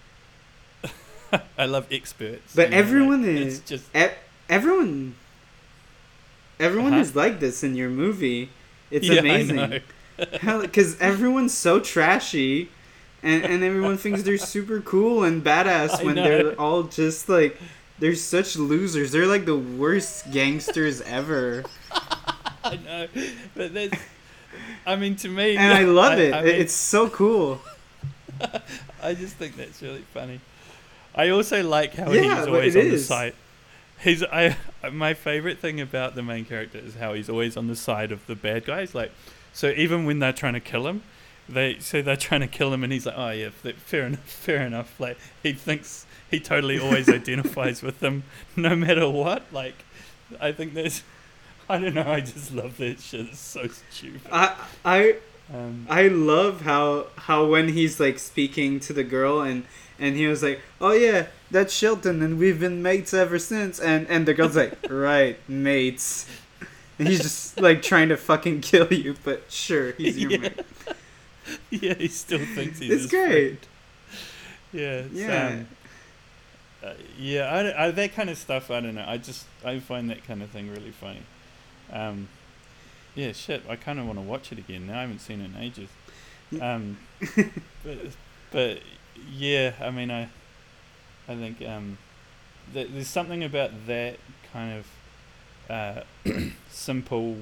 I love experts. But you know, everyone like, is... It's just... E- everyone... Everyone uh-huh. is like this in your movie. It's yeah, amazing. Because everyone's so trashy, and, and everyone thinks they're super cool and badass I when know. they're all just like... They're such losers. They're like the worst gangsters ever. I know, but that's... I mean, to me... And I love I, it. I mean, it's so cool. I just think that's really funny. I also like how Yeah, he's but always it on the is. side. He's I my favorite thing about the main character is how he's always on the side of the bad guys. Like, so even when they're trying to kill him, they say they're trying to kill him, and he's like, "Oh yeah, f- fair enough, fair enough." Like he thinks he totally always identifies with them, no matter what. Like, I think there's, I don't know, I just love that shit. It's so stupid. I I Um, I love how how when he's like speaking to the girl and and he was like, "Oh yeah, that's Shelton and we've been mates ever since." And and the girl's like, "Right, mates." And he's just like trying to fucking kill you, but sure, he's your yeah. mate. yeah, he still thinks he's It's his great. friend. Yeah, it's, Yeah. um, uh, yeah, I, I, that kind of stuff. I don't know. I just I find that kind of thing really funny. Um, yeah, shit. I kind of want to watch it again now. I haven't seen it in ages. Um, but but yeah, I mean, I I think um, th- there's something about that kind of uh, simple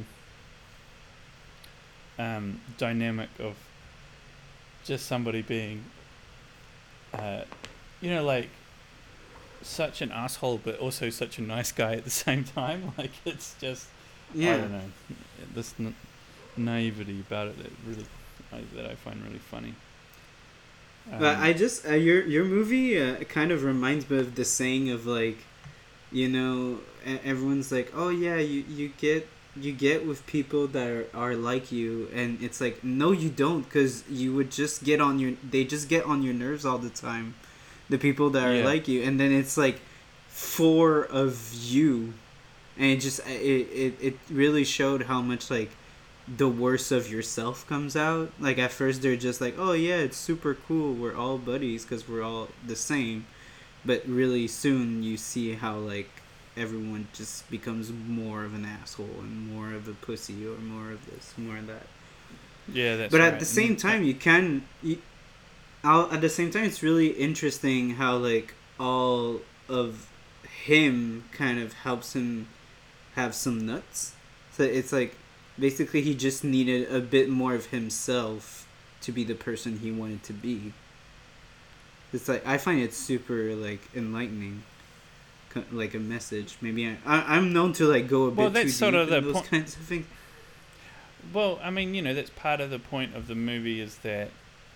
um, dynamic of just somebody being, uh, you know, like such an asshole, but also such a nice guy at the same time. Like it's just, Yeah. I don't know, this n- naivety about it that really, I, that I find really funny. Um, But I just uh, your your movie uh, kind of reminds me of the saying of like, you know, e- everyone's like, "Oh yeah, you you get you get with people that are, are like you," and it's like, no, you don't, because you would just get on your they just get on your nerves all the time, the people that are Yeah. like you, and then it's like four of you, and it just it it, it really showed how much like the worst of yourself comes out. Like at first they're just like, "Oh yeah, it's super cool. We're all buddies because we're all the same," but really soon you see how like everyone just becomes more of an asshole and more of a pussy or more of this, more of that. yeah, that's But right. at the And same then, time, you can. You, I'll, at the same time, it's really interesting how like all of him kind of helps him have some nuts. So it's like basically he just needed a bit more of himself to be the person he wanted to be. It's like I find it super like enlightening, co- like a message. Maybe I, I I'm known to like go a Well, bit too that's sort deep of in the those point- kinds of things. well, I mean, you know, that's part of the point of the movie is that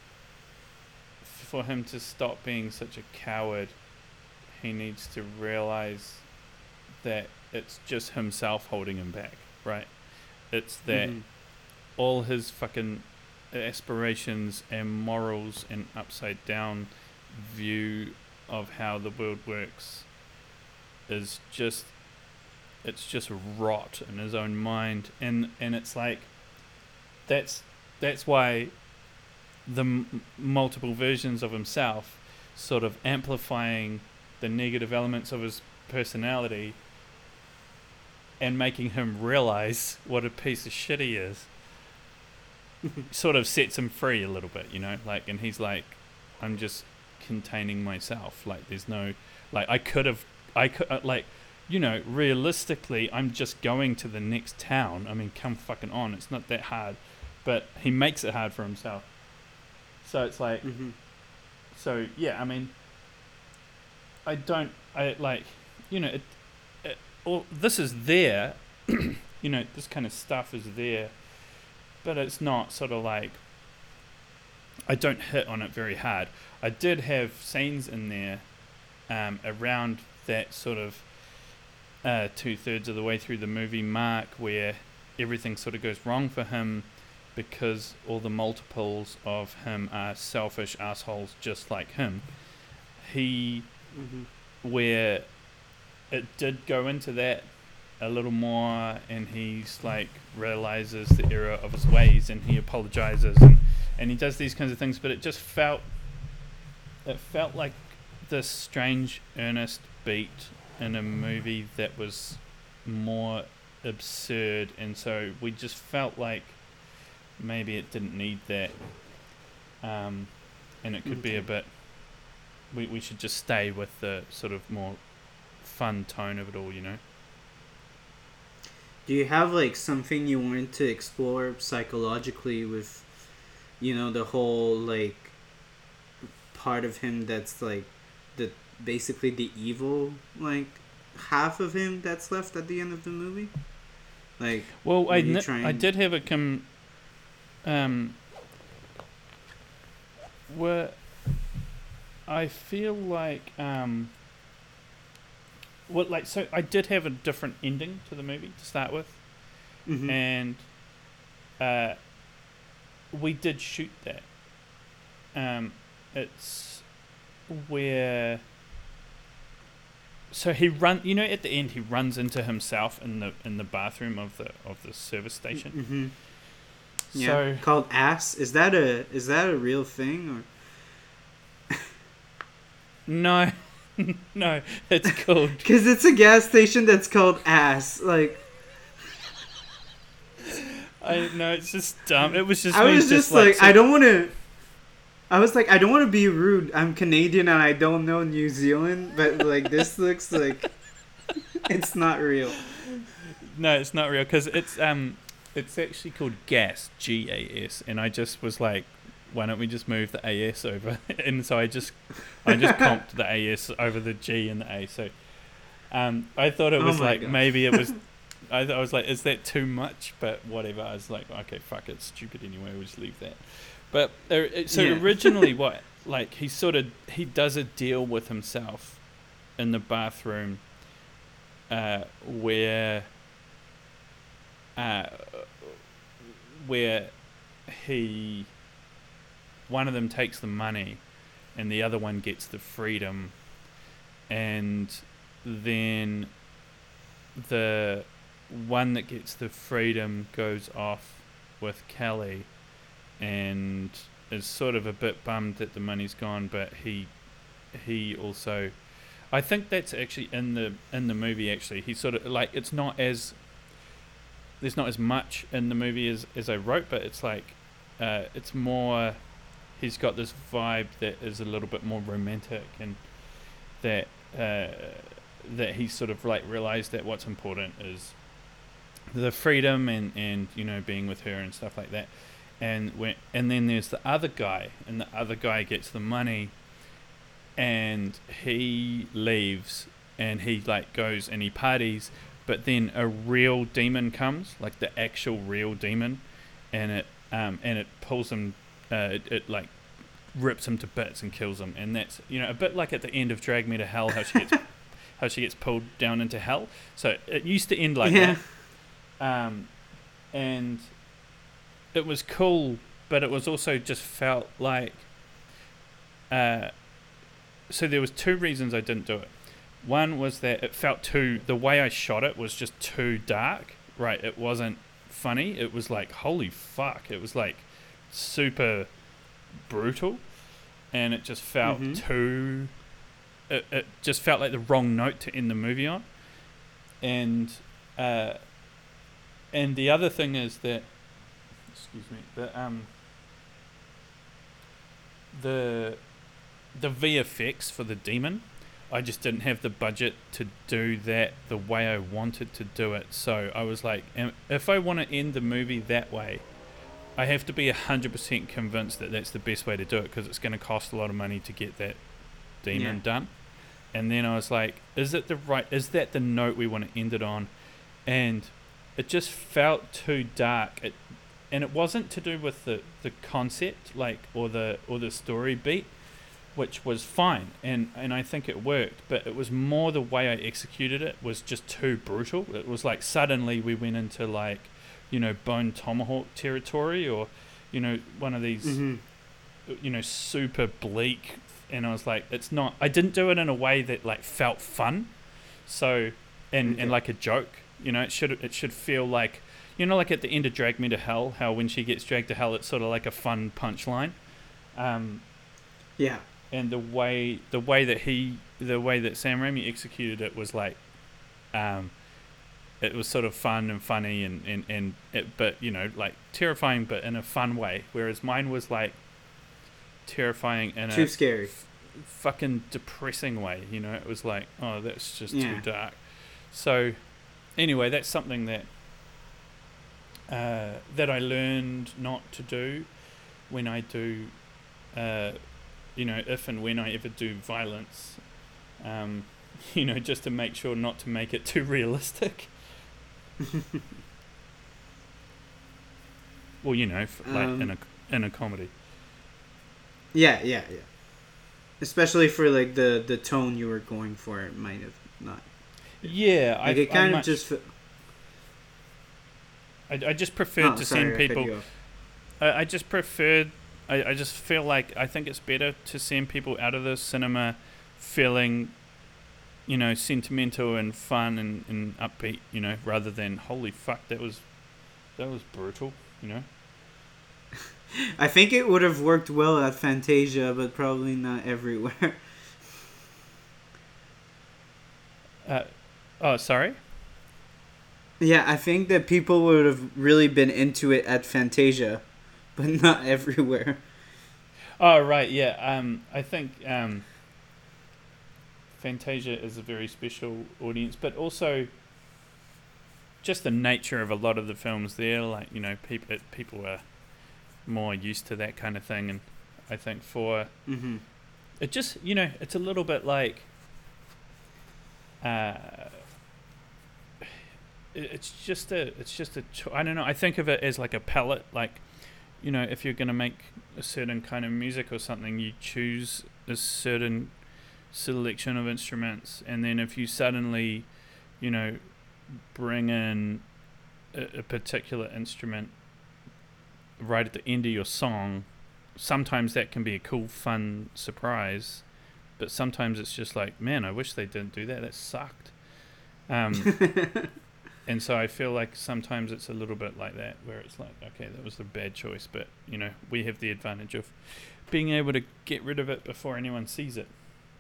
for him to stop being such a coward, he needs to realize that it's just himself holding him back, right? It's that Mhm. all his fucking aspirations and morals and upside down view of how the world works is just it's just rot in his own mind, and and it's like that's that's why the m- multiple versions of himself sort of amplifying the negative elements of his personality and making him realize what a piece of shit he is sort of sets him free a little bit, you know, like, and he's like, I'm just containing myself, like there's no, like I could have I could uh, like, you know, realistically I'm just going to the next town. I mean, come fucking on, it's not that hard, but he makes it hard for himself. So it's like, Mhm. so yeah, I mean, I don't, I like, you know, it, it all this is there, you know, this kind of stuff is there, but it's not sort of like, I don't hit on it very hard. I did have scenes in there um, around that sort of uh, two thirds of the way through the movie mark where everything sort of goes wrong for him because all the multiples of him are selfish assholes just like him. He, Mhm. where it did go into that a little more, and he's like realizes the error of his ways and he apologizes and, and he does these kinds of things, but it just felt it felt like this strange earnest beat in a movie that was more absurd, and so we just felt like maybe it didn't need that, um, and it could be a Okay. bit we, we should just stay with the sort of more fun tone of it all, you know. Do you have like something you wanted to explore psychologically with, you know, the whole like part of him that's like the basically the evil like half of him that's left at the end of the movie? Like, well, I, n- trying... I did have a com. Um. Where I feel like um. Well, like so, I did have a different ending to the movie to start with, mm-hmm. and uh, we did shoot that. Um, it's where. So he run, you know, at the end he runs into himself in the in the bathroom of the of the service station. Mm-hmm. Yeah, so, called Ass. Is that a is that a real thing or? No, no, it's called. Because it's a gas station that's called Ass. Like. I know it's just dumb. It was just. I was just, just like, like so I don't want to. I was like, I don't want to be rude. I'm Canadian and I don't know New Zealand, but like this looks like it's not real. No, it's not real because it's um, it's actually called gas, G A S, and I just was like, why don't we just move the A S over? And so I just, I just comped the A S over the G and the A. So, um, I thought it was oh like God. maybe it was. I, th- I was like, is that too much? But whatever. I was like, okay, fuck it, it's stupid anyway. We'll just leave that. But uh, so yeah. originally, what like he sort of he does a deal with himself in the bathroom, uh, where, uh, where he one of them takes the money, and the other one gets the freedom, and then the one that gets the freedom goes off with Kelly and is sort of a bit bummed that the money's gone, but he he also I think that's actually in the in the movie actually. He sort of like it's not as there's not as much in the movie as, as I wrote, but it's like uh, it's more he's got this vibe that is a little bit more romantic and that uh, that he sort of like realized that what's important is the freedom and, and you know being with her and stuff like that. And when and then there's the other guy, and the other guy gets the money, and he leaves, and he like goes and he parties, but then a real demon comes, like the actual real demon, and it um and it pulls him, uh, it, it like rips him to bits and kills him, and that's you know a bit like at the end of Drag Me to Hell, how she gets how she gets pulled down into hell. So it used to end like yeah. that, um, and. It was cool, but it was also just felt like. Uh, so there was two reasons I didn't do it. One was that it felt too. The way I shot it was just too dark. Right, it wasn't funny. It was like holy fuck. It was like super brutal, and it just felt mm-hmm. too. It it just felt like the wrong note to end the movie on, and uh, and the other thing is that. Excuse me. The um. The, the V F X for the demon, I just didn't have the budget to do that the way I wanted to do it. So I was like, if I want to end the movie that way, I have to be a hundred percent convinced that that's the best way to do it because it's going to cost a lot of money to get that demon yeah. done. And then I was like, is it the right? Is that the note we want to end it on? And it just felt too dark. It. And it wasn't to do with the, the concept, like or the or the story beat, which was fine, and, and I think it worked. But it was more the way I executed it was just too brutal. It was like suddenly we went into like, you know, Bone Tomahawk territory, or, you know, one of these, mm-hmm. you know, super bleak. And I was like, it's not. I didn't do it in a way that like felt fun, so and, okay. and like a joke. You know, it should it should feel like. You know, like at the end of Drag Me to Hell, how when she gets dragged to hell, it's sort of like a fun punchline. Um, yeah. And the way the way that he, the way that Sam Raimi executed it was like, um, it was sort of fun and funny and and and it, but you know, like terrifying, but in a fun way. Whereas mine was like terrifying in too a scary, f- fucking depressing way. You know, it was like, oh, that's just yeah. too dark. So, anyway, that's something that. Uh, that I learned not to do when I do uh, you know, if and when I ever do violence, um, you know, just to make sure not to make it too realistic. Well, you know, f- like um, in a in a comedy. yeah, yeah, yeah. Especially for like the the tone you were going for, it might have not. Yeah, Like I it I kind of much just. Fe- I, I just preferred oh, to sorry, send I cut people. you off. I, I just preferred. I, I just feel like I think it's better to send people out of the cinema feeling, you know, sentimental and fun and, and upbeat, you know, rather than holy fuck that was that was brutal, you know. I think it would have worked well at Fantasia, but probably not everywhere. Uh, oh, sorry. Yeah, I think that people would have really been into it at Fantasia, but not everywhere. Oh, right, yeah. Um, I think um, Fantasia is a very special audience, but also just the nature of a lot of the films there. Like, you know, people people are more used to that kind of thing, and I think for Mm-hmm. it just, you know, it's a little bit like. Uh, it's just a it's just a cho- I don't know, I think of it as like a palette, like, you know, if you're going to make a certain kind of music or something, you choose a certain selection of instruments, and then if you suddenly, you know, bring in a, a particular instrument right at the end of your song, sometimes that can be a cool fun surprise, but sometimes it's just like, man, I wish they didn't do that, that sucked. um And so I feel like sometimes it's a little bit like that, where it's like, okay, that was a bad choice, but, you know, we have the advantage of being able to get rid of it before anyone sees it.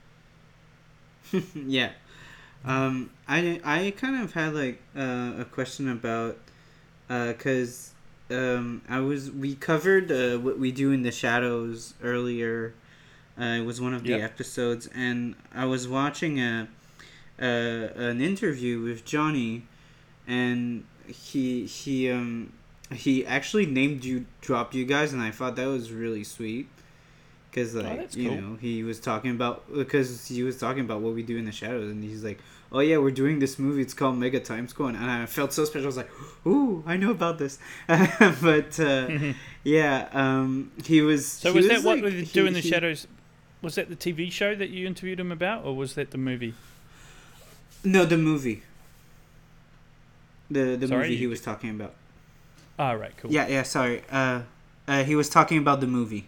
Yeah. Um, I I kind of had like uh, a question about because um, I was we covered uh, what we do in the shadows earlier. Uh, it was one of the Yep. episodes, and I was watching a, a an interview with Johnny, and he he um he actually named you dropped you guys, and I thought that was really sweet because Oh, like that's you cool. know he was talking about because he was talking about what we do in the shadows, and he's like, oh yeah, we're doing this movie, it's called Mega Time Squad, and I felt so special. I was like, ooh, I know about this. But uh yeah, um he was So he was was that what like we do he, in the he shadows? Was that the T V show that you interviewed him about, or was that the movie? no, the movie, the the Sorry, movie he you. was talking about. Ah, right, cool. Yeah, yeah, sorry. Uh, uh, he was talking about the movie.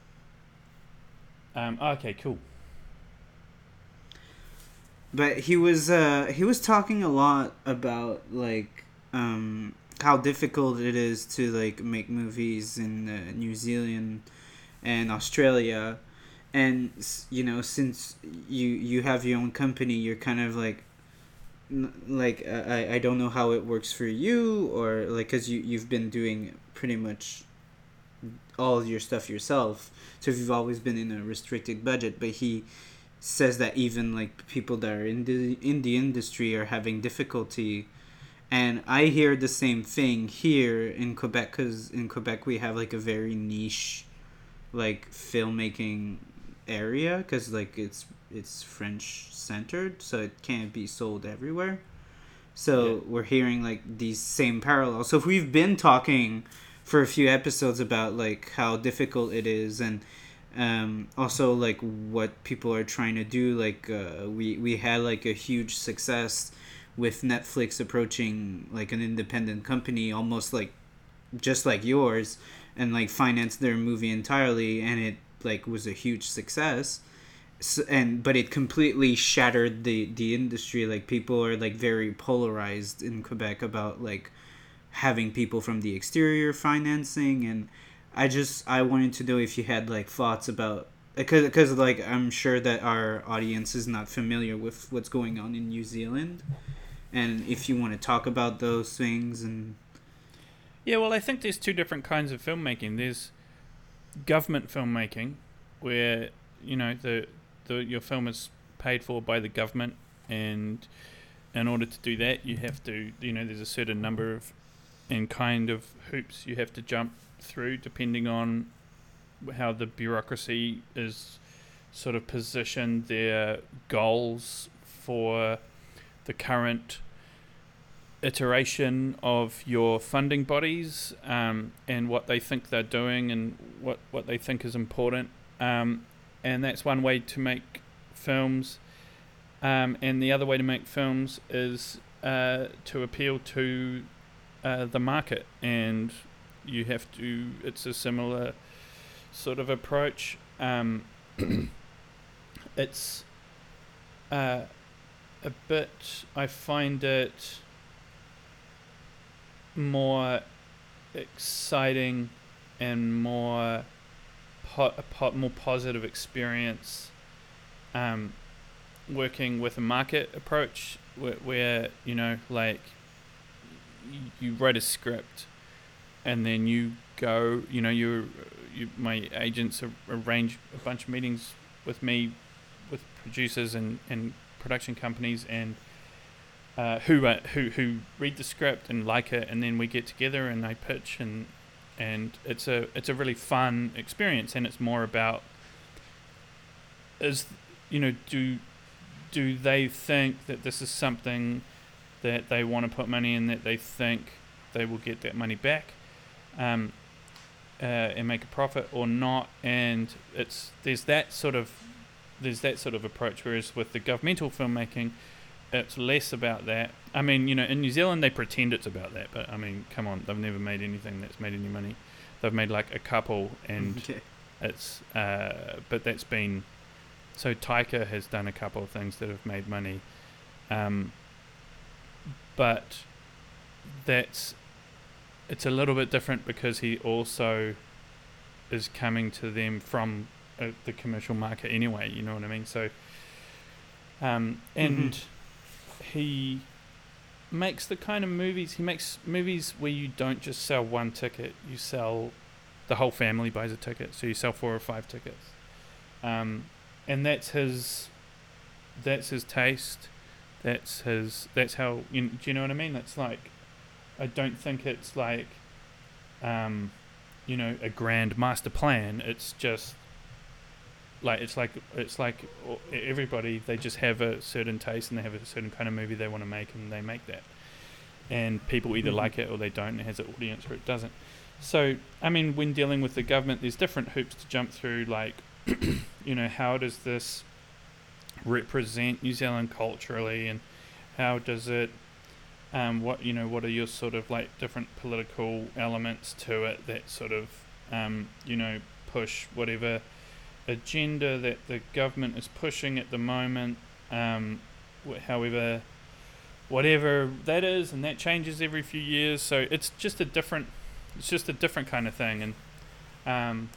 Um, okay, cool. But he was uh he was talking a lot about like um how difficult it is to like make movies in uh, New Zealand and Australia, and s- you know, since you you have your own company, you're kind of like n- like uh, I I don't know how it works for you, or like cuz you you've been doing pretty much all your stuff yourself, so you've always been in a restricted budget. But he says that even like people that are in the in the industry are having difficulty, and I hear the same thing here in Quebec, because in Quebec we have like a very niche like filmmaking area, because like it's it's French centered, so it can't be sold everywhere. Yeah. So we're hearing like these same parallels. So if we've been talking for a few episodes about like how difficult it is, and um, also like what people are trying to do, like uh, we we had like a huge success with Netflix approaching like an independent company, almost like just like yours, and like financed their movie entirely, and it like was a huge success. So, and but it completely shattered the the industry. Like people are like very polarized in Quebec about like having people from the exterior financing, and I just I wanted to know if you had like thoughts about, because because like I'm sure that our audience is not familiar with what's going on in New Zealand, and if you want to talk about those things. And Yeah, well, I think there's two different kinds of filmmaking. There's government filmmaking, where, you know, the the your film is paid for by the government, and in order to do that, you have to, you know, there's a certain number of and kind of hoops you have to jump through, depending on how the bureaucracy is sort of position their goals for the current iteration of your funding bodies, um, and what they think they're doing and what, what they think is important. Um, and that's one way to make films. Um, and the other way to make films is uh, to appeal to uh, the market. And you have to, it's a similar sort of approach. Um, it's uh, a bit, I find it more exciting and more po- a po- more positive experience um, working with a market approach where, where you know, like you, you write a script and then you go, you know, you you my agents arrange a bunch of meetings with me, with producers and, and production companies, and uh, who uh, who who read the script and like it, and then we get together and I pitch, and and it's a it's a really fun experience, and it's more about is you know do do they think that this is something that they want to put money in, that they think they will get that money back, um, uh, and make a profit or not. And it's there's that sort of there's that sort of approach, whereas with the governmental filmmaking, it's less about that. I mean, you know, in New Zealand they pretend it's about that, but I mean, come on, they've never made anything that's made any money. They've made like a couple, and Okay. it's uh, but that's been so Taika has done a couple of things that have made money, um, but that's it's a little bit different because he also is coming to them from uh, the commercial market anyway. You know what I mean? So, um, and mm-hmm. he makes the kind of movies he makes movies where you don't just sell one ticket, you sell the whole family buys a ticket, so you sell four or five tickets, um, and that's his that's his taste, that's his that's how you know, do you know what I mean? That's like, I don't think it's like um, you know, a grand master plan. It's just like it's like it's like everybody, they just have a certain taste and they have a certain kind of movie they want to make, and they make that, and people either mm-hmm. like it or they don't. It has an audience or it doesn't. So I mean, when dealing with the government, there's different hoops to jump through, like you know, how does this represent New Zealand culturally, and how does it um what you know what are your sort of like different political elements to it that sort of um you know push whatever agenda that the government is pushing at the moment, um, wh- however, whatever that is, and that changes every few years. So it's just a different, it's just a different kind of thing, and um,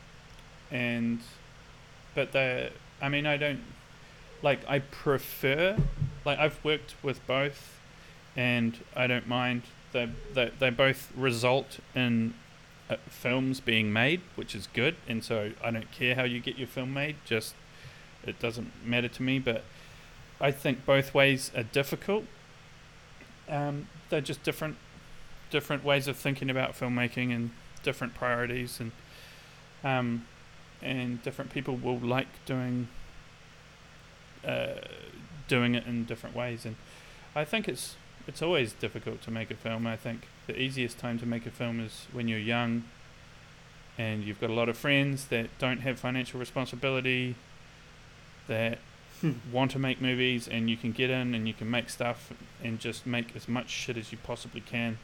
and but the, I mean, I don't like. I prefer, like, I've worked with both, and I don't mind. They they they both result in Uh, films being made, which is good, and so I don't care how you get your film made, just it doesn't matter to me. But I think both ways are difficult. Um, they're just different different ways of thinking about filmmaking, and different priorities, and um, and different people will like doing uh, doing it in different ways. And I think it's it's always difficult to make a film. I think the easiest time to make a film is when you're young and you've got a lot of friends that don't have financial responsibility, that want to make movies, and you can get in and you can make stuff and just make as much shit as you possibly can.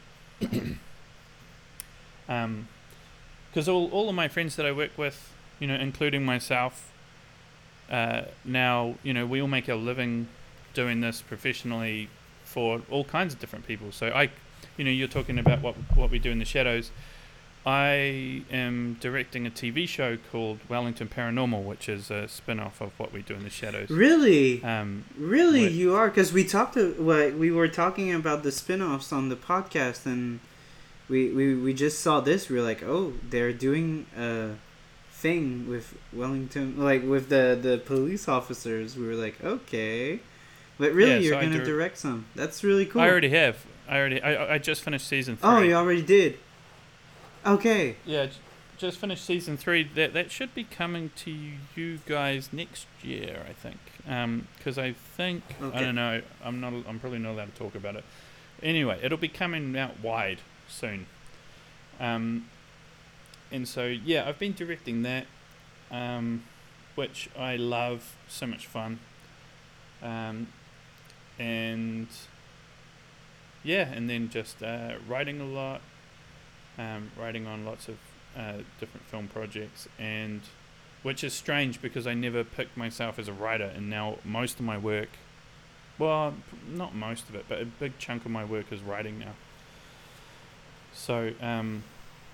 um, because all, all of my friends that I work with, you know, including myself, uh, now, you know, we all make our living doing this professionally for all kinds of different people. So I, you know, you're talking about what what we do in the shadows. I am directing a T V show called Wellington Paranormal, which is a spin-off of what we do in the shadows. Really? Um, really, you are? Because we talked to, what we were talking about the spin-offs on the podcast, and we, we, we just saw this. We were like, oh, they're doing a thing with Wellington, like with the, the police officers. We were like, okay. But really, yeah, you're so going to direct some. That's really cool. I already have. I already. I I just finished season three. Oh, you already did. Okay. Yeah, just finished season three. That that should be coming to you guys next year, I think. Um, because I think Okay. I don't know. I'm not. I'm probably not allowed to talk about it. Anyway, it'll be coming out wide soon. Um, and so yeah, I've been directing that, um, which I love. So much fun. Um, and yeah, and then just uh, writing a lot. Um, writing on lots of uh, different film projects, and which is strange because I never picked myself as a writer, and now most of my work, well, not most of it, but a big chunk of my work is writing now. So, um,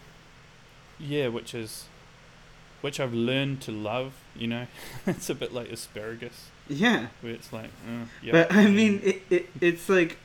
yeah, which is, which I've learned to love. You know, it's a bit like asparagus, Yeah. where it's like, uh, yeah. But I mean, it, it it's like,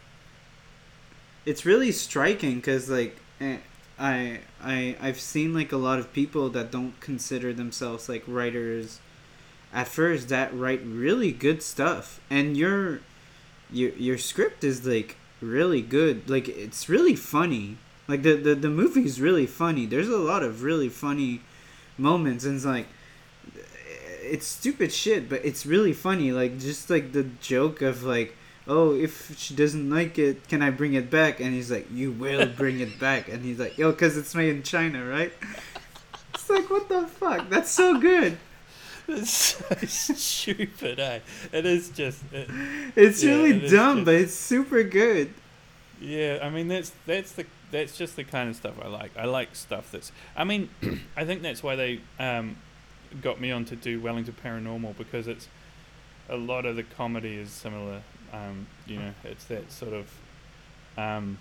it's really striking because like. Eh, I I I've seen like a lot of people that don't consider themselves like writers at first that write really good stuff, and your your your script is like really good. Like it's really funny. Like the the the movie is really funny. There's a lot of really funny moments, and it's like it's stupid shit, but it's really funny. Like just like the joke of like, oh, if she doesn't like it, can I bring it back? And he's like, you will bring it back. And he's like, yo, because it's made in China, right? It's like, what the fuck? That's so good. It's so stupid, eh? It is just... It, it's yeah, really it dumb, just, but it's super good. Yeah, I mean, that's that's the that's just the kind of stuff I like. I like stuff that's... I mean, I think that's why they um, got me on to do Wellington Paranormal, because it's... A lot of the comedy is similar. Um, you know, it's that sort of um,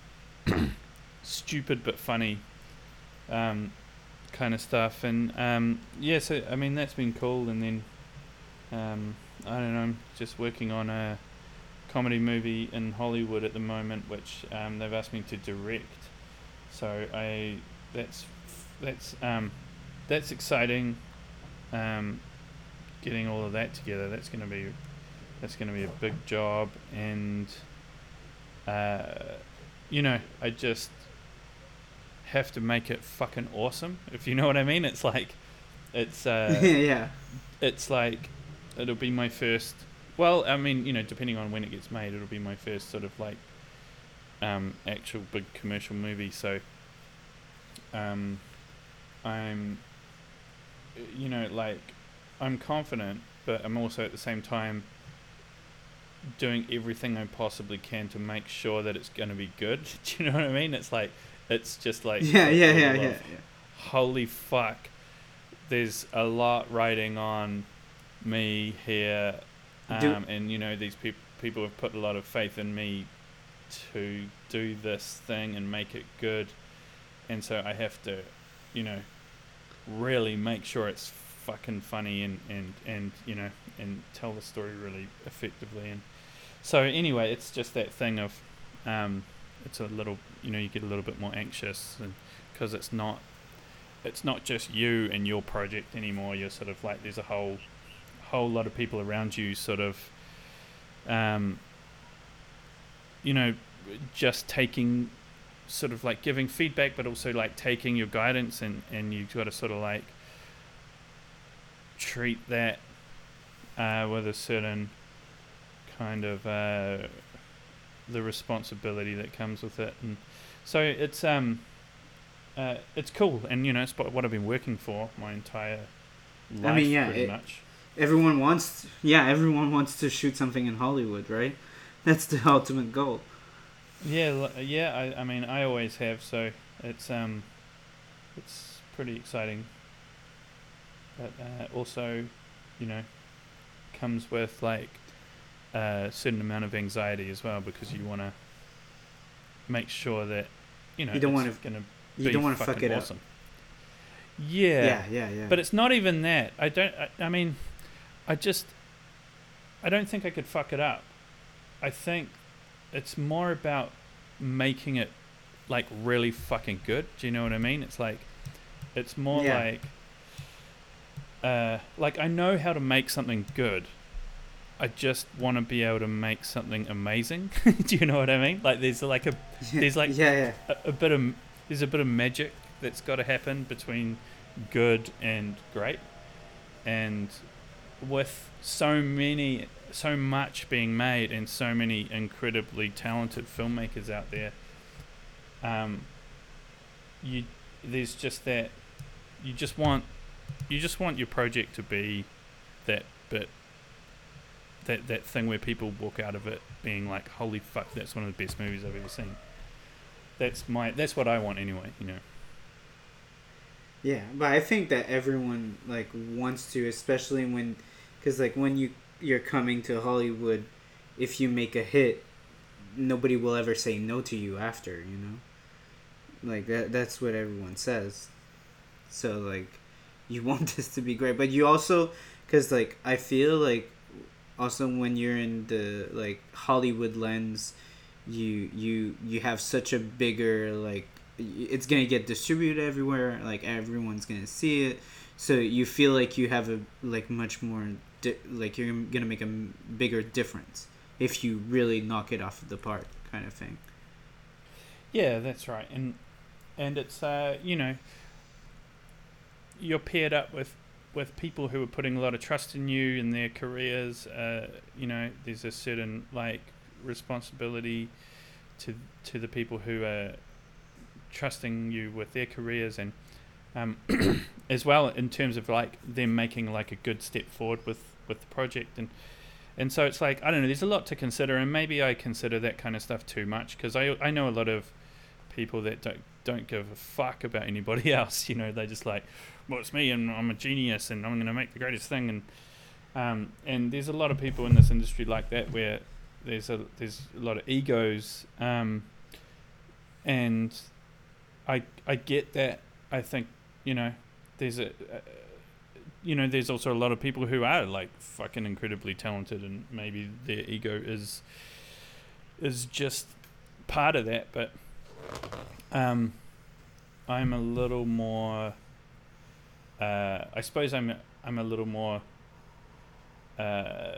stupid but funny um, kind of stuff, and um, yeah. So I mean, that's been cool. And then um, I don't know, I'm just working on a comedy movie in Hollywood at the moment, which um, they've asked me to direct. So I that's that's um, that's exciting. Um, getting all of that together, that's going to be. That's going to be a big job, and uh, you know, I just have to make it fucking awesome, if you know what I mean. It's like, it's uh, yeah, it's like, it'll be my first. Well, I mean, you know, depending on when it gets made, it'll be my first sort of like um, actual big commercial movie. So, um, I'm, you know, like, I'm confident, but I'm also at the same time doing everything I possibly can to make sure that it's going to be good. Do you know what I mean? It's like, it's just like, yeah, yeah, yeah, yeah, yeah. Holy fuck. There's a lot riding on me here. Um, Do- and, you know, these peop- people have put a lot of faith in me to do this thing and make it good. And so I have to, you know, really make sure it's fucking funny and, and, and you know, and tell the story really effectively. And so anyway, it's just that thing of, um, it's a little, you know, you get a little bit more anxious, and because it's not, it's not just you and your project anymore. You're sort of like, there's a whole, whole lot of people around you, sort of, um, you know, just taking, sort of like giving feedback, but also like taking your guidance, and and you've got to sort of like treat that uh, with a certain kind of uh, the responsibility that comes with it. And so it's um uh, it's cool, and you know, it's what I've been working for my entire life. I mean, yeah, pretty it, much. Everyone wants, yeah, everyone wants to shoot something in Hollywood, right? That's the ultimate goal. Yeah, yeah. I, I mean, I always have. So it's um, it's pretty exciting. But uh, also, you know, comes with like a certain amount of anxiety as well, because you want to make sure that you know you don't it's want to gonna you be don't want to fucking fuck it awesome. up. Yeah. Yeah, yeah, yeah. But it's not even that. I don't. I, I mean, I just. I don't think I could fuck it up. I think it's more about making it like really fucking good. Do you know what I mean? It's like, it's more Yeah. like, uh, like I know how to make something good. I just want to be able to make something amazing. Do you know what I mean? Like there's like a, there's like yeah, yeah. a, a bit of, there's a bit of magic that's got to happen between good and great. And with so many, so much being made, and so many incredibly talented filmmakers out there, um, you there's just that you just want you just want your project to be that bit that that thing where people walk out of it being like, holy fuck, that's one of the best movies I've ever seen. That's my that's what I want anyway, you know. Yeah, but I think that everyone like wants to, especially when, because like when you you're coming to Hollywood, if you make a hit, nobody will ever say no to you after, you know. Like that that's what everyone says. So like, you want this to be great, but you also, because like I feel like, also when you're in the like Hollywood lens, you you you have such a bigger like, it's gonna get distributed everywhere, like everyone's gonna see it, so you feel like you have a like much more di- like you're gonna make a bigger difference if you really knock it off of the park, kind of thing. Yeah, that's right. And and it's uh you know, you're paired up with with people who are putting a lot of trust in you in their careers. Uh you know, there's a certain like responsibility to to the people who are trusting you with their careers, and um, as well in terms of like them making like a good step forward with, with the project, and and so it's like, I don't know, there's a lot to consider, and maybe I consider that kind of stuff too much, because I I know a lot of people that don't don't give a fuck about anybody else. You know, they just like, well, it's me and I'm a genius and I'm gonna make the greatest thing, and um and there's a lot of people in this industry like that, where there's a there's a lot of egos, um and I I get that. I think, you know, there's a, uh, you know, there's also a lot of people who are like fucking incredibly talented, and maybe their ego is is just part of that. But um, I'm a little more. Uh, I suppose I'm I'm a little more. Uh,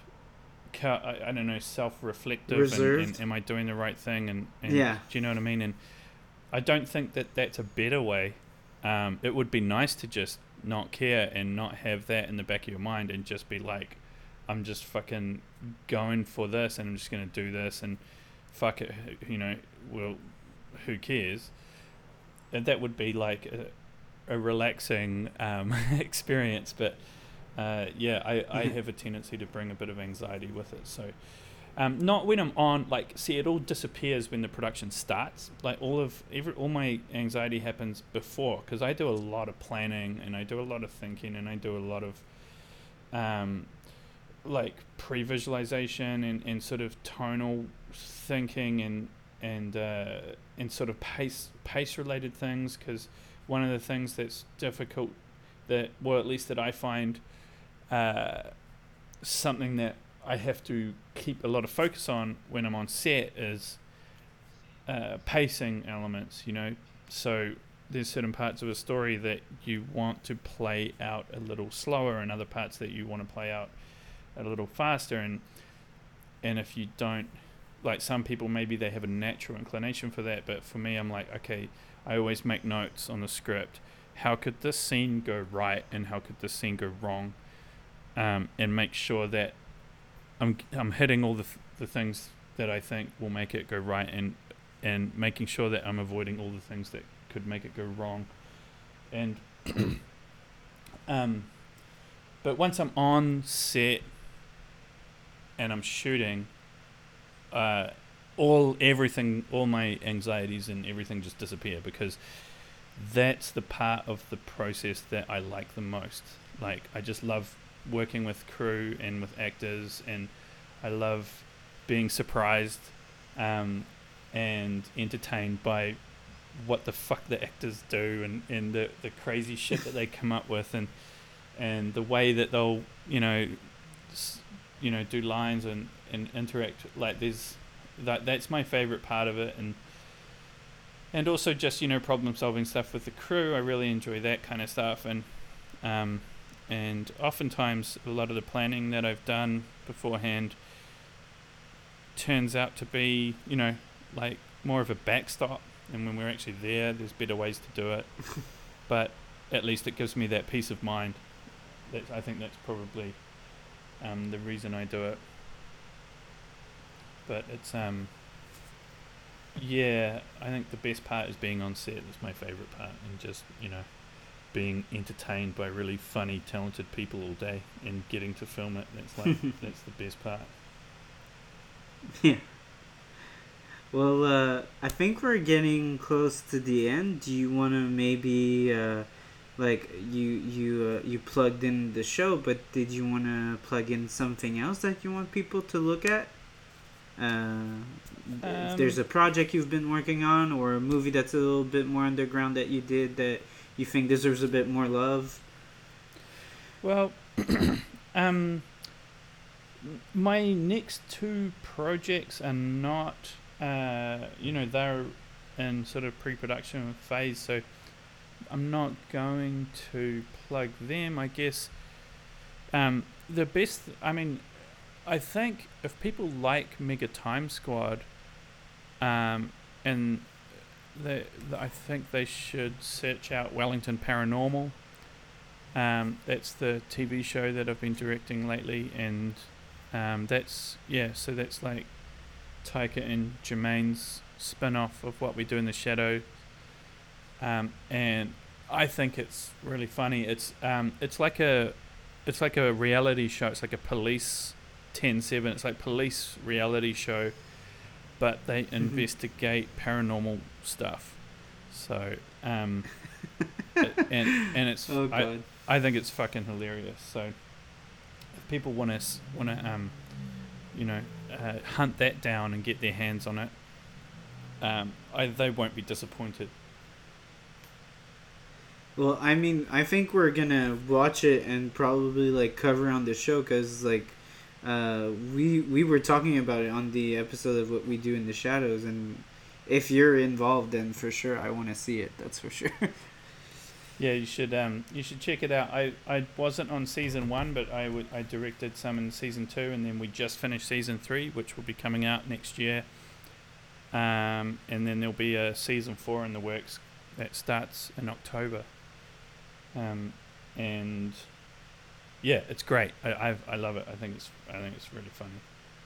I, I don't know, self-reflective, and, and am I doing the right thing? And, and yeah, do you know what I mean? And I don't think that that's a better way. Um, it would be nice to just not care and not have that in the back of your mind, and just be like, I'm just fucking going for this, and I'm just going to do this, and fuck it, you know, well, who cares? And that would be like a, a relaxing um, experience. But uh, yeah, I, I have a tendency to bring a bit of anxiety with it. So Um, not when I'm on, like, see, it all disappears when the production starts. Like, all of, every, all my anxiety happens before, because I do a lot of planning, and I do a lot of thinking, and I do a lot of, um, like, pre-visualization, and, and sort of tonal thinking, and, and, uh, and sort of pace, pace-related things, because one of the things that's difficult, that, well, at least that I find, uh, something that I have to keep a lot of focus on when I'm on set is uh, pacing elements, you know. So there's certain parts of a story that you want to play out a little slower, and other parts that you want to play out a little faster. And and if you don't, like, some people, maybe they have a natural inclination for that, but for me, I'm like, okay, I always make notes on the script. How could this scene go right, and how could this scene go wrong? Um, and make sure that I'm I'm hitting all the th- the things that I think will make it go right, and and making sure that I'm avoiding all the things that could make it go wrong. And um, but once I'm on set and I'm shooting, uh, all everything, all my anxieties and everything just disappear, because that's the part of the process that I like the most. Like, I just love working with crew and with actors, and I love being surprised um, and entertained by what the fuck the actors do, and, and the, the crazy shit that they come up with, and and the way that they'll, you know, s- you know, do lines and, and interact. Like, there's that that's my favorite part of it. And and also just, you know, problem solving stuff with the crew. I really enjoy that kind of stuff. And um And oftentimes, a lot of the planning that I've done beforehand turns out to be, you know, like more of a backstop. And when we're actually there, there's better ways to do it. But at least it gives me that peace of mind. That's, I think that's probably um, the reason I do it. But it's um yeah, I think the best part is being on set. It's my favourite part, and just, you know, being entertained by really funny, talented people all day and getting to film it. That's like that's the best part. Yeah. Well, uh, I think we're getting close to the end. Do you want to maybe, uh, like, you you uh, you plugged in the show, but did you want to plug in something else that you want people to look at? Uh, um, if there's a project you've been working on, or a movie that's a little bit more underground that you did that you think deserves a bit more love. Well, um, my next two projects are not, uh, you know, they're in sort of pre-production phase, so I'm not going to plug them. I guess um, the best, I mean, I think if people like Mega Time Squad, um, and they, I think they should search out Wellington Paranormal. Um, that's the T V show that I've been directing lately, and um, that's yeah. So that's like Taika and Jermaine's spin-off of What We Do in the Shadow, um, and I think it's really funny. It's um, it's like a it's like a reality show. It's like a police ten seven. It's like police reality show, but they mm-hmm. investigate paranormal stuff. So um, it, and and it's oh, God. I, I think it's fucking hilarious. So if people want to want to um, you know, uh, hunt that down and get their hands on it, um, I they won't be disappointed. Well, I mean, I think we're gonna watch it and probably like cover on the show, because like uh, we we were talking about it on the episode of What We Do in the Shadows, and if you're involved, then for sure I want to see it. That's for sure. Yeah, you should um you should check it out. I, I wasn't on season one, but I would I directed some in season two, and then we just finished season three, which will be coming out next year. Um, and then there'll be a season four in the works that starts in October. Um, and yeah, it's great. I I've, I love it. I think it's I think it's really funny.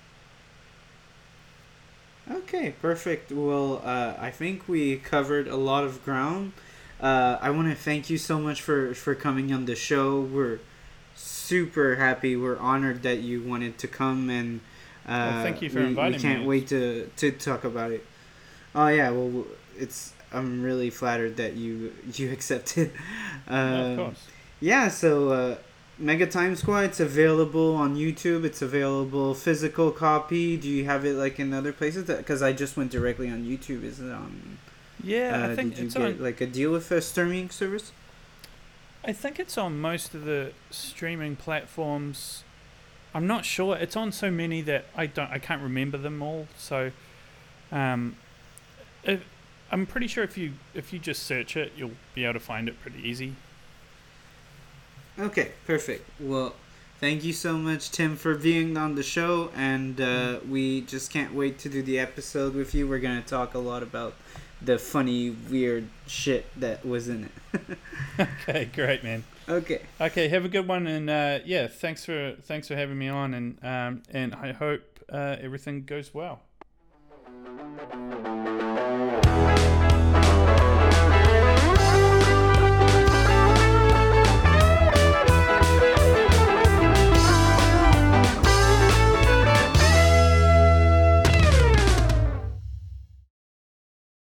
Okay, perfect. Well, uh, I think we covered a lot of ground. Uh, I want to thank you so much for, for coming on the show. We're super happy. We're honored that you wanted to come, and uh, well, thank you for we, inviting me. We can't me. wait to, to talk about it. Oh yeah, well, it's I'm really flattered that you you accepted. Uh, no, of course. Yeah, so uh, Mega Time Squad. It's available on YouTube. It's available physical copy. Do you have it like in other places? Because I just went directly on YouTube. Is it on? Yeah, uh, I think did you it's get on, like a deal with a streaming service? I think it's on most of the streaming platforms. I'm not sure. It's on so many that I don't. I can't remember them all. So, um, it, I'm pretty sure if you if you just search it, you'll be able to find it pretty easy. Okay, perfect. Well, thank you so much, Tim, for being on the show, and uh, mm. we just can't wait to do the episode with you. We're gonna talk a lot about the funny, weird shit that was in it. Okay, great, man. Okay. Okay, have a good one, and uh, yeah, thanks for thanks for having me on, and um, and I hope uh, everything goes well.